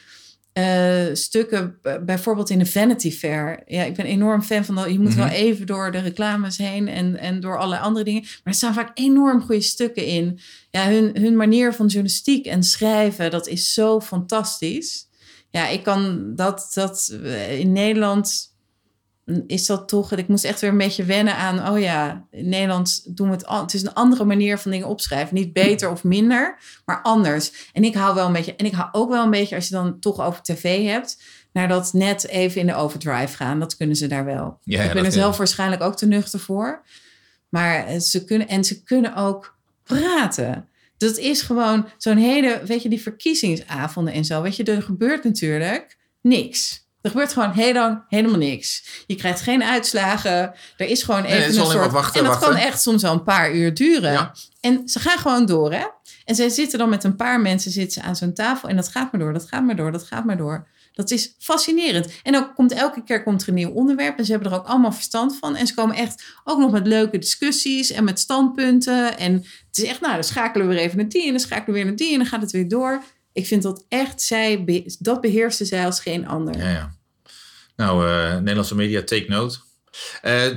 Uh, stukken, bijvoorbeeld in de Vanity Fair. Ja, ik ben enorm fan van dat. Je moet mm-hmm. wel even door de reclames heen en, en door alle andere dingen. Maar er staan vaak enorm goede stukken in. Ja, hun, hun manier van journalistiek en schrijven, dat is zo fantastisch. Ja, ik kan dat, dat in Nederland is dat toch... Ik moest echt weer een beetje wennen aan... oh ja, in Nederland doen we het... Al, het is een andere manier van dingen opschrijven. Niet beter of minder, maar anders. En ik hou wel een beetje... En ik hou ook wel een beetje, als je dan toch over tv hebt... naar dat net even in de overdrive gaan. Dat kunnen ze daar wel. Ja, ja, ik ben er kan. zelf waarschijnlijk ook te nuchter voor. Maar ze kunnen... En ze kunnen ook praten... Dat is gewoon zo'n hele, weet je, die verkiezingsavonden en zo. Weet je, er gebeurt natuurlijk niks. Er gebeurt gewoon heel lang helemaal niks. Je krijgt geen uitslagen. Er is gewoon even nee, is een soort... wachten, en dat wachten. kan echt soms al een paar uur duren. Ja. En ze gaan gewoon door, hè. En zij zitten dan met een paar mensen zitten ze aan zo'n tafel. En dat gaat maar door, dat gaat maar door, dat gaat maar door. Dat is fascinerend. En dan komt elke keer komt er een nieuw onderwerp. En ze hebben er ook allemaal verstand van. En ze komen echt ook nog met leuke discussies en met standpunten. En het is echt, nou, dan schakelen we weer even naar die. En dan schakelen we weer naar die. En dan gaat het weer door. Ik vind dat echt, zij, dat beheerste zij als geen ander. Ja, ja. Nou, uh, Nederlandse media, take note. Uh,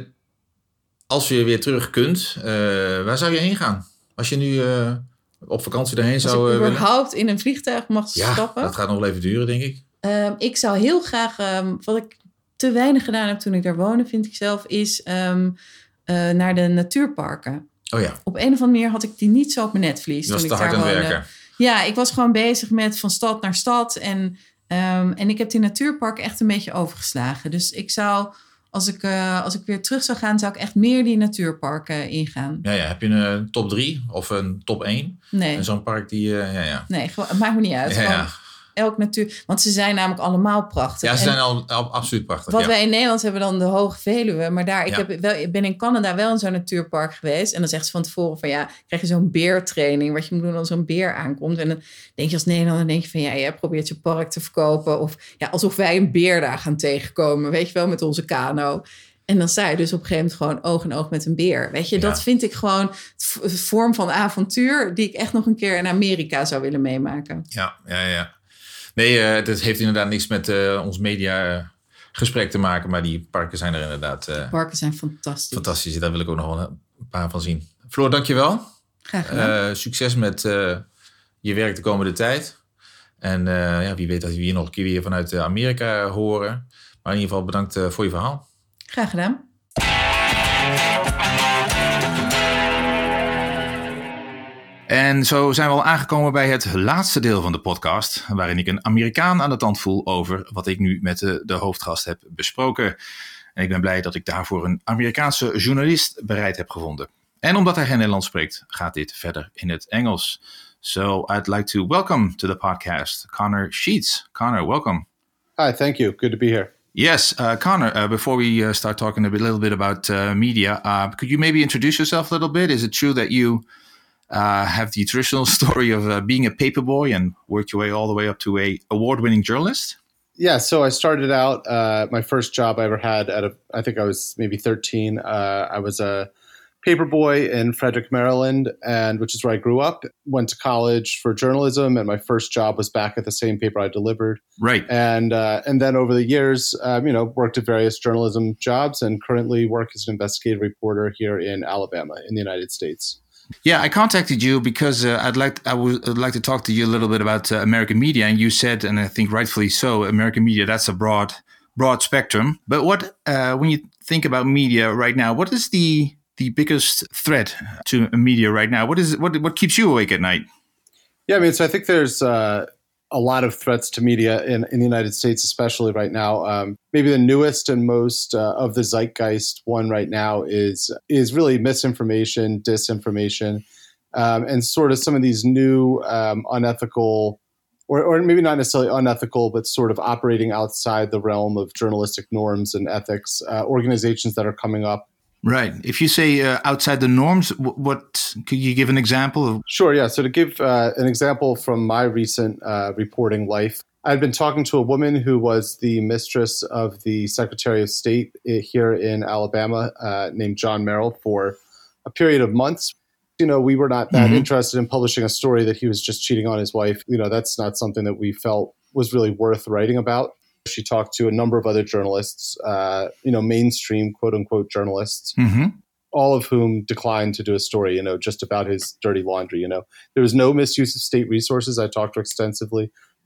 als je weer terug kunt, uh, waar zou je heen gaan? Als je nu uh, op vakantie daarheen als zou ik uh, überhaupt willen? in een vliegtuig mag ja, stappen. dat gaat nog wel even duren, denk ik. Um, ik zou heel graag, um, wat ik te weinig gedaan heb toen ik daar woonde, vind ik zelf, is um, uh, naar de natuurparken. Oh ja. Op een of andere manier had ik die niet zo op mijn netvlies. Je was toen te ik hard daar aan het woonde. werken. Ja, ik was gewoon bezig met van stad naar stad. En, um, en ik heb die natuurparken echt een beetje overgeslagen. Dus ik zou, als ik, uh, als ik weer terug zou gaan, zou ik echt meer die natuurparken ingaan. Ja, ja. Heb je een uh, top drie of een top één? Nee. En zo'n park die, uh, ja, ja. Nee, gewoon, het maakt me niet uit. Ja, Gewoon, ja. Elk natuur, want ze zijn namelijk allemaal prachtig. Ja, ze en zijn al, al absoluut prachtig. Wat ja. wij in Nederland hebben dan de Hoge Veluwe. Maar daar, ik, Ja. heb wel, ik ben in Canada wel in zo'n natuurpark geweest. En dan zegt ze van tevoren van ja, krijg je zo'n beertraining. Wat je moet doen als zo'n beer aankomt. En dan denk je als Nederlander, denk je van ja, jij probeert je park te verkopen. Of ja, alsof wij een beer daar gaan tegenkomen. Weet je wel, met onze kano. En dan sta je dus op een gegeven moment gewoon oog in oog met een beer. Weet je, Ja. dat vind ik gewoon een vorm van avontuur die ik echt nog een keer in Amerika zou willen meemaken. Ja, ja, ja. Nee, uh, dat heeft inderdaad niks met uh, ons media uh, gesprek te maken. Maar die parken zijn er inderdaad uh, Parken zijn fantastisch. fantastisch. Daar wil ik ook nog wel een paar van zien. Floor, dankjewel. Graag gedaan. Uh, succes met uh, je werk de komende tijd. En uh, ja, wie weet dat we hier nog een keer weer vanuit Amerika horen. Maar in ieder geval bedankt uh, voor je verhaal. Graag gedaan. En zo zijn we al aangekomen bij het laatste deel van de podcast, waarin ik een Amerikaan aan de tand voel over wat ik nu met de, de hoofdgast heb besproken. En ik ben blij dat ik daarvoor een Amerikaanse journalist bereid heb gevonden. En omdat hij geen Nederlands spreekt, gaat dit verder in het Engels. So I'd like to welcome to the podcast Connor Sheets. Connor, welcome. Hi, thank you. Good to be here. Yes, uh, Connor, uh, before we uh, start talking a bit, little bit about uh, media, uh, could you maybe introduce yourself a little bit? Is it true that you uh, have the traditional story of uh, being a paperboy and worked your way all the way up to a award-winning journalist? Yeah, so I started out, uh, my first job I ever had at a, I think I was maybe thirteen. Uh, I was a paperboy in Frederick, Maryland, and which is where I grew up. Went to college for journalism, and my first job was back at the same paper I delivered. Right. And uh, and then over the years, um, you know, worked at various journalism jobs, and currently work as an investigative reporter here in Alabama, in the United States. Yeah, I contacted you because uh, I'd like I would I'd like to talk to you a little bit about uh, American media, and you said, and I think rightfully so, American media, that's a broad broad spectrum. But what uh, when you think about media right now, what is the the biggest threat to media right now? What is it, what what keeps you awake at night? Yeah, I mean, so I think there's uh, a lot of threats to media in, in the United States, especially right now. Um, maybe the newest and most uh, of the zeitgeist one right now is is really misinformation, disinformation, um, and sort of some of these new um, unethical, or, or maybe not necessarily unethical, but sort of operating outside the realm of journalistic norms and ethics, uh, organizations that are coming up. Right. If you say uh, outside the norms, what, what could you give an example of? Sure. Yeah. So to give uh, an example from my recent uh, reporting life, I'd been talking to a woman who was the mistress of the Secretary of State here in Alabama, uh, named John Merrill, for a period of months. You know, we were not that mm-hmm. interested in publishing a story that he was just cheating on his wife. You know, that's not something that we felt was really worth writing about. She talked to a number of other journalists, uh, you know, mainstream quote unquote journalists, mm-hmm. all of whom declined to do a story, you know, just about his dirty laundry. You know, there was no misuse of state resources. I talked to her extensively.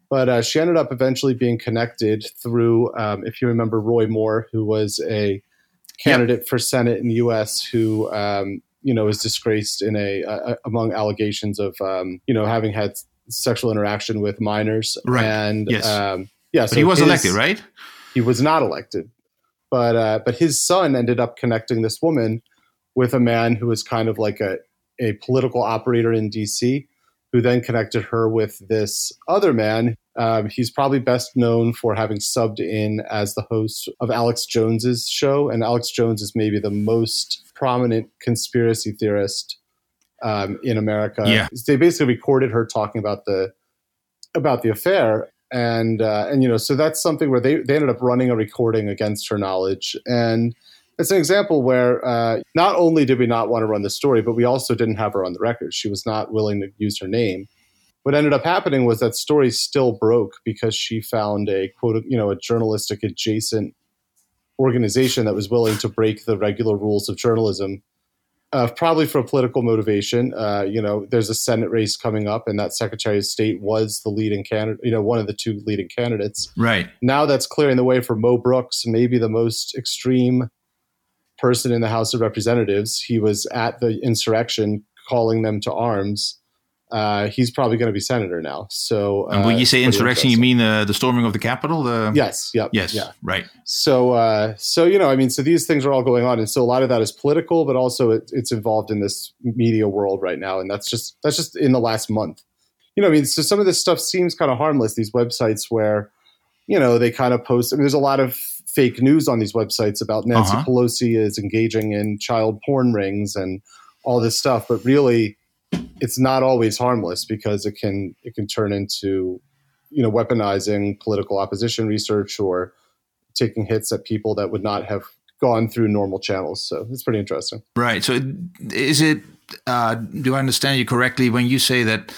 But uh, she ended up eventually being connected through, um, if you remember, Roy Moore, who was a candidate yep. for Senate in the U S who, um, you know, was disgraced in a uh, among allegations of, um, you know, having had sexual interaction with minors. Right. And yes. um, yeah, but so he was his, elected, right? He was not elected, but uh, but his son ended up connecting this woman with a man who was kind of like a a political operator in D C, who then connected her with this other man. Um, he's probably best known for having subbed in as the host of Alex Jones's show. And Alex Jones is maybe the most prominent conspiracy theorist um, in America. Yeah. They basically recorded her talking about the about the affair. And, uh, and you know, so that's something where they, they ended up running a recording against her knowledge. And it's an example where uh, not only did we not want to run the story, but we also didn't have her on the record. She was not willing to use her name. What ended up happening was that story still broke because she found a quote, you know, a journalistic adjacent organization that was willing to break the regular rules of journalism, uh, probably for a political motivation. Uh, you know, there's a Senate race coming up, and that Secretary of State was the leading candidate, you know, one of the two leading candidates. Right. Now that's clearing the way for Mo Brooks, maybe the most extreme person in the House of Representatives. He was at the insurrection calling them to arms. Uh, he's probably going to be senator now. So, uh, and when you say insurrection, you mean uh, the storming of the Capitol? The... Yes. Yep. Yes. Yeah. Right. So, uh, so you know, I mean, so these things are all going on, and so a lot of that is political, but also it, it's involved in this media world right now, and that's just that's just in the last month. You know, I mean, so some of this stuff seems kind of harmless. These websites where, you know, they kind of post. I mean, there's a lot of fake news on these websites about Nancy uh-huh. Pelosi is engaging in child porn rings and all this stuff, but really, it's not always harmless because it can it can turn into, you know, weaponizing political opposition research or taking hits at people that would not have gone through normal channels. So it's pretty interesting. Right. So is it, uh, do I understand you correctly when you say that,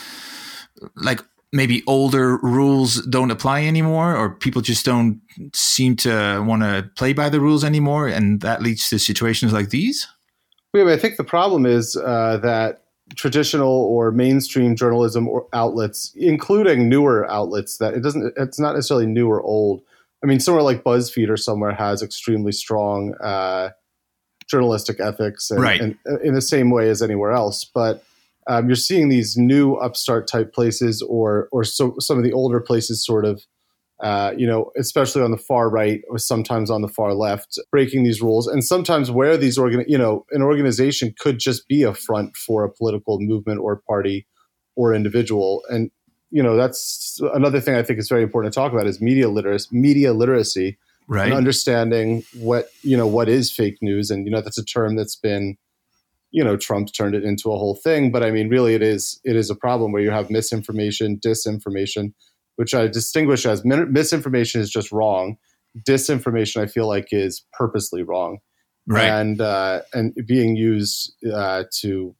like, maybe older rules don't apply anymore, or people just don't seem to want to play by the rules anymore, and that leads to situations like these? Yeah, I think the problem is uh, that traditional or mainstream journalism or outlets, including newer outlets, that it doesn't, it's not necessarily new or old. I mean, somewhere like BuzzFeed or somewhere has extremely strong uh, journalistic ethics, and, right. and in the same way as anywhere else. But um, you're seeing these new upstart type places, or or so, some of the older places, sort of, uh, you know, especially on the far right or sometimes on the far left, breaking these rules. And sometimes where these organ, you know, an organization could just be a front for a political movement or party or individual. And, you know, that's another thing I think is very important to talk about is media literacy, media literacy, right. and understanding what, you know, what is fake news. And, you know, that's a term that's been, you know, Trump turned it into a whole thing. But I mean, really, it is it is a problem where you have misinformation, disinformation, which I distinguish as misinformation is just wrong. Disinformation, I feel like, is purposely wrong, right? And uh, and being used uh, to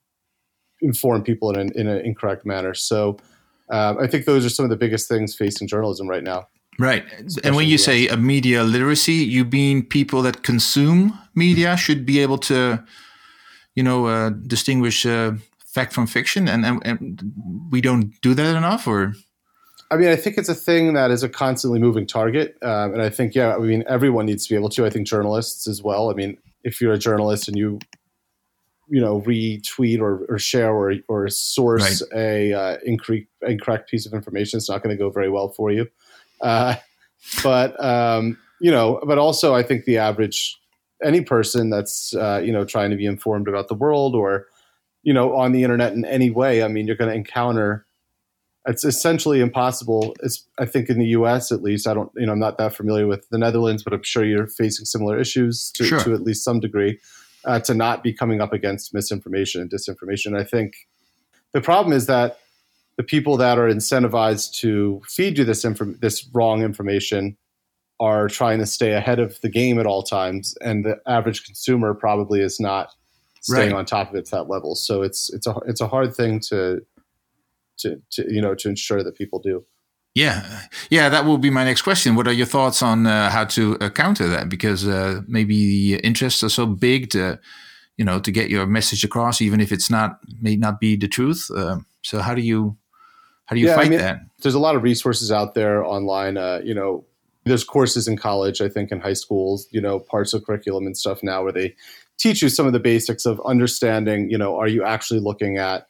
inform people in an, in an incorrect manner. So um, I think those are some of the biggest things facing journalism right now. Right. And when you say a media literacy, you mean people that consume media should be able to, you know, uh, distinguish uh, fact from fiction, and, and and we don't do that enough, or? I mean, I think it's a thing that is a constantly moving target. Um, and I think, yeah, I mean, everyone needs to be able to. I think journalists as well. I mean, if you're a journalist and you, you know, retweet or, or share or, or source right. a uh, incorrect, incorrect piece of information, it's not going to go very well for you. Uh, but, um, you know, but also I think the average, any person that's, uh, you know, trying to be informed about the world or, you know, on the internet in any way, I mean, you're going to encounter. It's essentially impossible. It's, I think in the U S at least, I don't, you know, I'm not that familiar with the Netherlands, but I'm sure you're facing similar issues to, sure. to at least some degree, uh, to not be coming up against misinformation and disinformation. I think the problem is that the people that are incentivized to feed you this inf- this wrong information are trying to stay ahead of the game at all times, and the average consumer probably is not staying right. on top of it to that level. So it's it's a it's a hard thing to. To, to you know to ensure that people do. Yeah, yeah, that will be my next question. What are your thoughts on uh, how to uh, counter that? Because uh, maybe the interests are so big to, you know, to get your message across, even if it's not may not be the truth. Uh, so how do you how do you Yeah, fight I mean, that? There's a lot of resources out there online. Uh, you know, there's courses in college, I think in high schools, you know, parts of curriculum and stuff now where they teach you some of the basics of understanding, you know, are you actually looking at,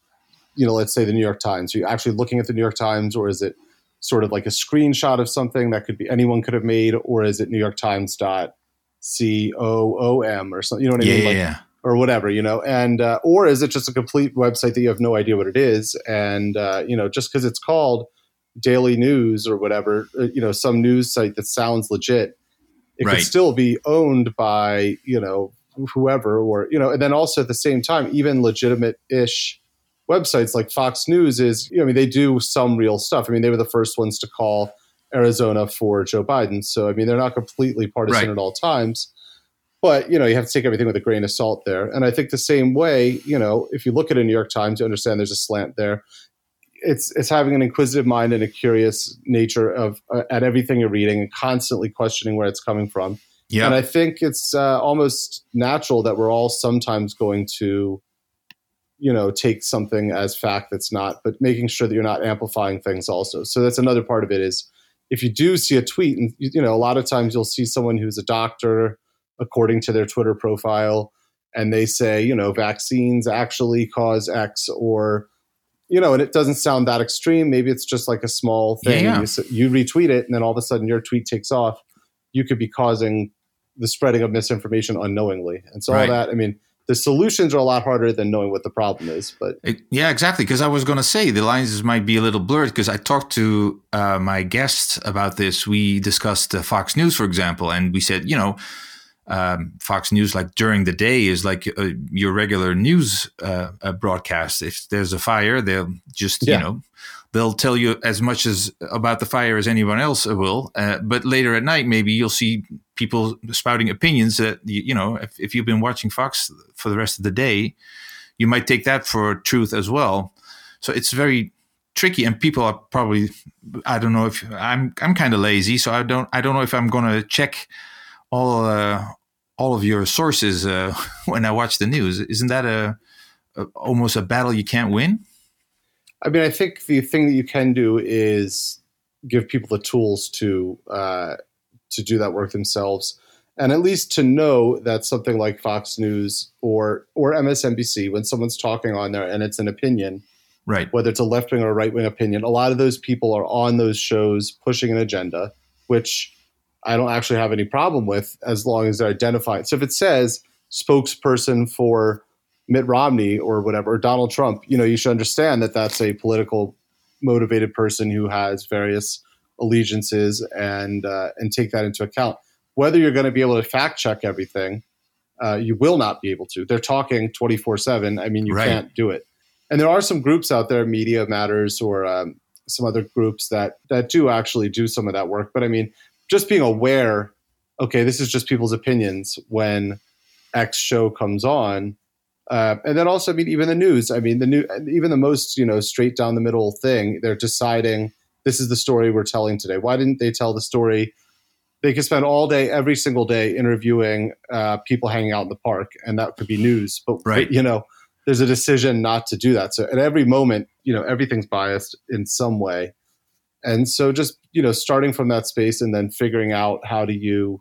you know, let's say the New York Times, are you actually looking at the New York Times, or is it sort of like a screenshot of something that could be anyone could have made, or is it New York Times dot C O O M or something, you know what I Yeah, mean? yeah, Like, yeah. or whatever, you know, and, uh, or is it just a complete website that you have no idea what it is? And, uh, you know, just because it's called Daily News or whatever, uh, you know, some news site that sounds legit, it Right. could still be owned by, you know, whoever, or, you know, and then also at the same time, even legitimate-ish websites like Fox News is, you know, I mean, they do some real stuff. I mean, they were the first ones to call Arizona for Joe Biden. So, I mean, they're not completely partisan Right. at all times, but, you know, you have to take everything with a grain of salt there. And I think the same way, you know, if you look at a New York Times, you understand there's a slant there. It's it's having an inquisitive mind and a curious nature of uh, at everything you're reading and constantly questioning where it's coming from. Yeah. And I think it's uh, almost natural that we're all sometimes going to, you know, take something as fact that's not, but making sure that you're not amplifying things also. So that's another part of it is if you do see a tweet, and, you know, a lot of times you'll see someone who's a doctor, according to their Twitter profile, and they say, you know, vaccines actually cause X, or, you know, and it doesn't sound that extreme. Maybe it's just like a small thing. Yeah, yeah. You, s- you retweet it, and then all of a sudden your tweet takes off. You could be causing the spreading of misinformation unknowingly. And so Right. all that, I mean, the solutions are a lot harder than knowing what the problem is. But It- yeah, exactly. Because I was going to say the lines might be a little blurred because I talked to uh, my guest about this. We discussed uh, Fox News, for example, and we said, you know, um, Fox News, like during the day, is like uh, your regular news uh, uh, broadcast. If there's a fire, they'll just, Yeah. you know, they'll tell you as much as about the fire as anyone else will. Uh, but later at night, maybe you'll see people spouting opinions that, you, you know, if, if you've been watching Fox for the rest of the day, you might take that for truth as well. So it's very tricky, and people are probably, I don't know if I'm, I'm kind of lazy, so I don't, I don't know if I'm going to check all, uh, all of your sources uh, when I watch the news. Isn't that a, a almost a battle you can't win? I mean, I think the thing that you can do is give people the tools to uh, to do that work themselves, and at least to know that something like Fox News or or M S N B C, when someone's talking on there and it's an opinion, Right. whether it's a left wing or a right wing opinion, a lot of those people are on those shows pushing an agenda, which I don't actually have any problem with as long as they're identified. So if it says spokesperson for Mitt Romney or whatever, or Donald Trump, you know, you should understand that that's a political motivated person who has various allegiances, and uh, and take that into account. Whether you're going to be able to fact check everything, uh, you will not be able to. They're talking twenty-four seven. I mean, you Right. can't do it. And there are some groups out there, Media Matters or um, some other groups that that do actually do some of that work. But I mean, just being aware, okay, this is just people's opinions when X show comes on. Uh, and then also, I mean, even the news, I mean, the new, even the most, you know, straight down the middle thing, they're deciding this is the story we're telling today. Why didn't they tell the story? They could spend all day, every single day interviewing uh, people hanging out in the park, and that could be news. But, Right. but, you know, there's a decision not to do that. So at every moment, you know, everything's biased in some way. And so just, you know, starting from that space and then figuring out how do you,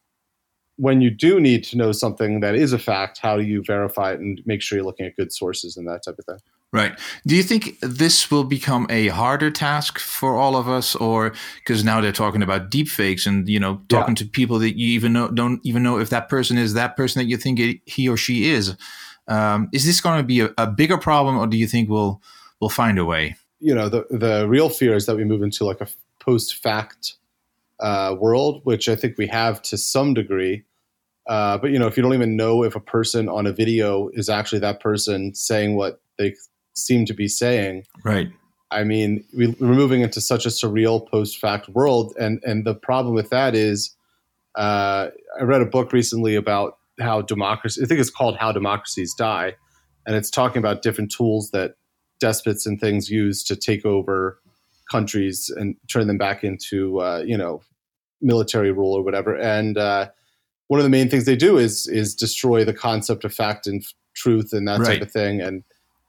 when you do need to know something that is a fact, how do you verify it and make sure you're looking at good sources and that type of thing? Right. Do you think this will become a harder task for all of us, or because now they're talking about deep fakes and, you know, talking Yeah. to people that you even know, don't even know if that person is that person that you think it, he or she is. Um, is this going to be a, a bigger problem, or do you think we'll we'll find a way? You know, the the real fear is that we move into like a post-fact uh, world, which I think we have to some degree. Uh, but, you know, if you don't even know if a person on a video is actually that person saying what they seem to be saying, Right. I mean, we, we're moving into such a surreal post-fact world. And, and the problem with that is uh, I read a book recently about how democracy, I think it's called How Democracies Die. And it's talking about different tools that despots and things use to take over countries and turn them back into, uh, you know, military rule or whatever. And uh, one of the main things they do is is destroy the concept of fact and f- truth and that Right. type of thing. And,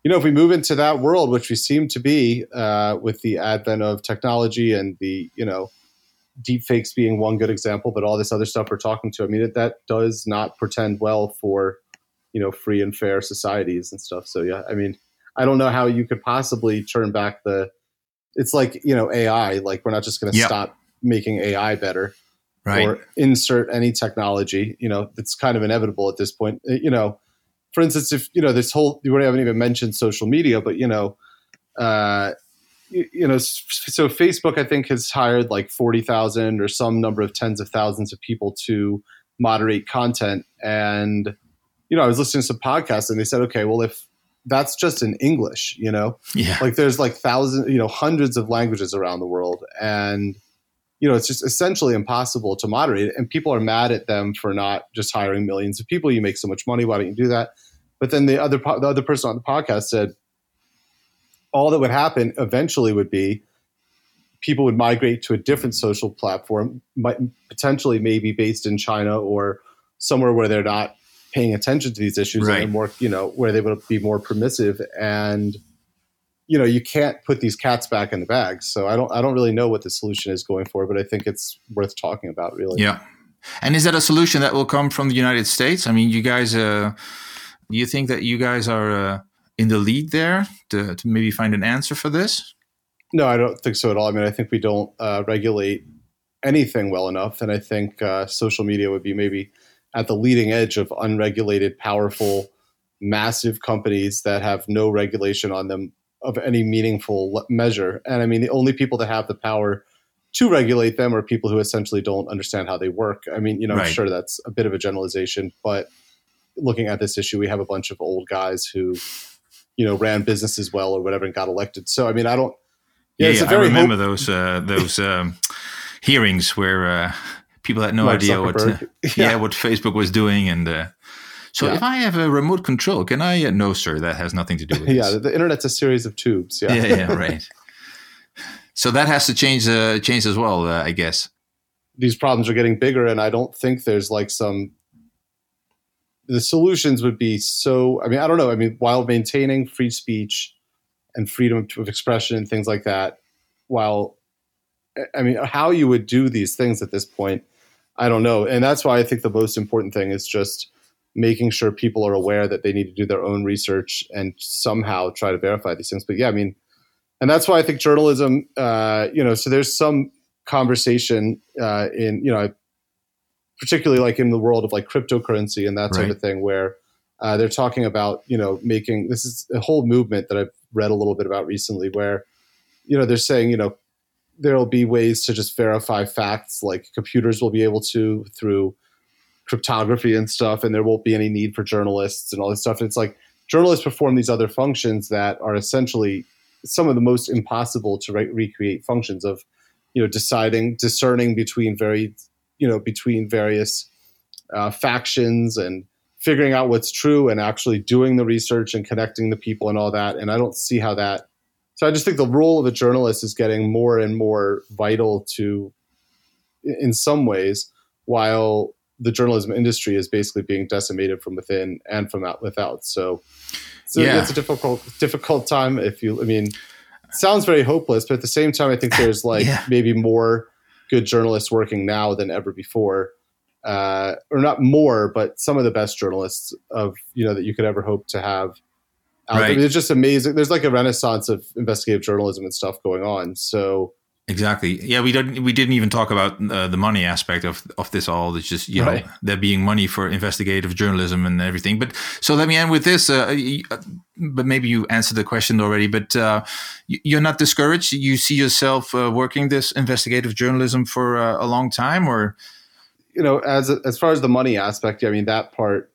you know, if we move into that world, which we seem to be uh, with the advent of technology and the, you know, deep fakes being one good example, but all this other stuff we're talking to, I mean, it, that does not portend well for, you know, free and fair societies and stuff. So, yeah, I mean, I don't know how you could possibly turn back the, it's like, you know, A I, like we're not just going to yeah. stop making A I better. Right. Or insert any technology, you know, it's kind of inevitable at this point. You know, for instance, if, you know, this whole, we haven't even mentioned social media, but, you know, uh, you, you know, so Facebook, I think, has hired like forty thousand or some number of tens of thousands of people to moderate content. And, you know, I was listening to some podcasts and they said, okay, well, if that's just in English, you know, yeah. like there's like thousands, you know, hundreds of languages around the world. And, you know, it's just essentially impossible to moderate it. And people are mad at them for not just hiring millions of people. You make so much money. Why don't you do that? But then the other the other person on the podcast said all that would happen eventually would be people would migrate to a different social platform, might potentially maybe based in China or somewhere where they're not paying attention to these issues right. and more, you know, where they would be more permissive. And you know, you can't put these cats back in the bag. So I don't, I don't really know what the solution is going forward, but I think it's worth talking about, really. Yeah. And is that a solution that will come from the United States? I mean, you guys, uh, do you think that you guys are uh, in the lead there to, to maybe find an answer for this? No, I don't think so at all. I mean, I think we don't uh, regulate anything well enough. And I think uh, social media would be maybe at the leading edge of unregulated, powerful, massive companies that have no regulation on them of any meaningful measure. And I mean, the only people that have the power to regulate them are people who essentially don't understand how they work. I mean, you know, right. I'm sure that's a bit of a generalization, but looking at this issue, we have a bunch of old guys who, you know, ran businesses well or whatever and got elected. So, I mean, I don't, yeah, yeah, it's yeah a very I remember hope- those, uh, those um, hearings where uh, people had no Mark idea what, uh, yeah. yeah, what Facebook was doing. And uh, so yeah. if I have a remote control, can I? Uh, no, sir, that has nothing to do with yeah, this. the, the internet's a series of tubes. Yeah, yeah, yeah, right. So that has to change, uh, change as well, uh, I guess. These problems are getting bigger, and I don't think there's like some. The solutions would be so. I mean, I don't know. I mean, while maintaining free speech and freedom of expression and things like that, while, I mean, how you would do these things at this point, I don't know. And that's why I think the most important thing is just making sure people are aware that they need to do their own research and somehow try to verify these things. But yeah, I mean, and that's why I think journalism, uh, you know, so there's some conversation uh, in, you know, particularly like in the world of like cryptocurrency and that type right. of thing, where uh, they're talking about, you know, making, this is a whole movement that I've read a little bit about recently where, you know, they're saying, you know, there'll be ways to just verify facts, like computers will be able to through cryptography and stuff, and there won't be any need for journalists and all this stuff. And it's like journalists perform these other functions that are essentially some of the most impossible to re- recreate functions of, you know, deciding, discerning between very, you know, between various uh, factions and figuring out what's true and actually doing the research and connecting the people and all that. And I don't see how that. So I just think the role of a journalist is getting more and more vital to, in some ways, while the journalism industry is basically being decimated from within and from out without. So, so yeah. it's a difficult, difficult time. If you, I mean, it sounds very hopeless, but at the same time, I think there's like yeah. maybe more good journalists working now than ever before, uh, or not more, but some of the best journalists of, you know, that you could ever hope to have. Out. Right. I mean, it's just amazing. There's like a renaissance of investigative journalism and stuff going on. So exactly, yeah, we didn't we didn't even talk about uh, the money aspect of of this all. It's just, you right. know, there being money for investigative journalism and everything. But so let me end with this. Uh, but maybe you answered the question already. But uh, you're not discouraged. You see yourself uh, working this investigative journalism for uh, a long time, or you know, as as far as the money aspect, I mean that part.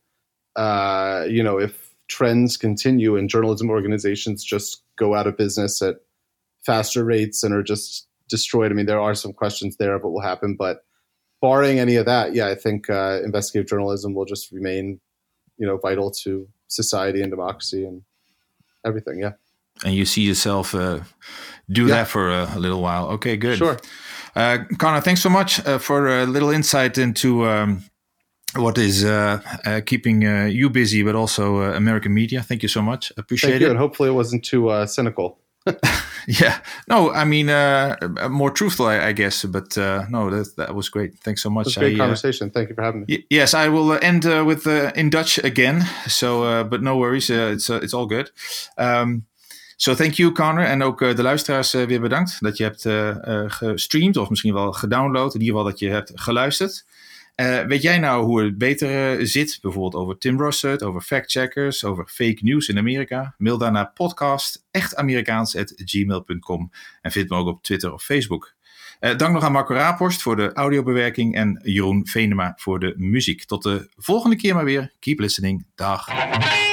Uh, you know, if trends continue and journalism organizations just go out of business at faster rates and are just destroyed. I mean, there are some questions there of what will happen, but barring any of that, yeah, I think uh, investigative journalism will just remain, you know, vital to society and democracy and everything. Yeah. And you see yourself uh, do yeah. that for a, a little while. Okay, good. Sure. Uh, Connor, thanks so much uh, for a little insight into um, what is uh, uh, keeping uh, you busy, but also uh, American media. Thank you so much. Appreciate Thank you, it. and hopefully it wasn't too uh, cynical. Yeah, no, I mean uh, more truthful, I, I guess. But uh, no, that that was great. Thanks so much. It was a great I, conversation. Uh, Thank you for having me. Y- yes, I will end uh, with uh, in Dutch again. So, uh, but no worries, uh, it's uh, it's all good. Um, so thank you, Connor, en ook uh, de luisteraars uh, weer bedankt dat je hebt uh, uh, gestreamd of misschien wel gedownload. In ieder geval dat je hebt geluisterd. Uh, weet jij nou hoe het beter uh, zit? Bijvoorbeeld over Tim Russert, over factcheckers, over fake news in Amerika? Mail dan naar podcast echtamerikaans at gmail dot com en vind me ook op Twitter of Facebook. Uh, dank nog aan Marco Raaphorst voor de audiobewerking en Jeroen Venema voor de muziek. Tot de volgende keer maar weer. Keep listening. Dag.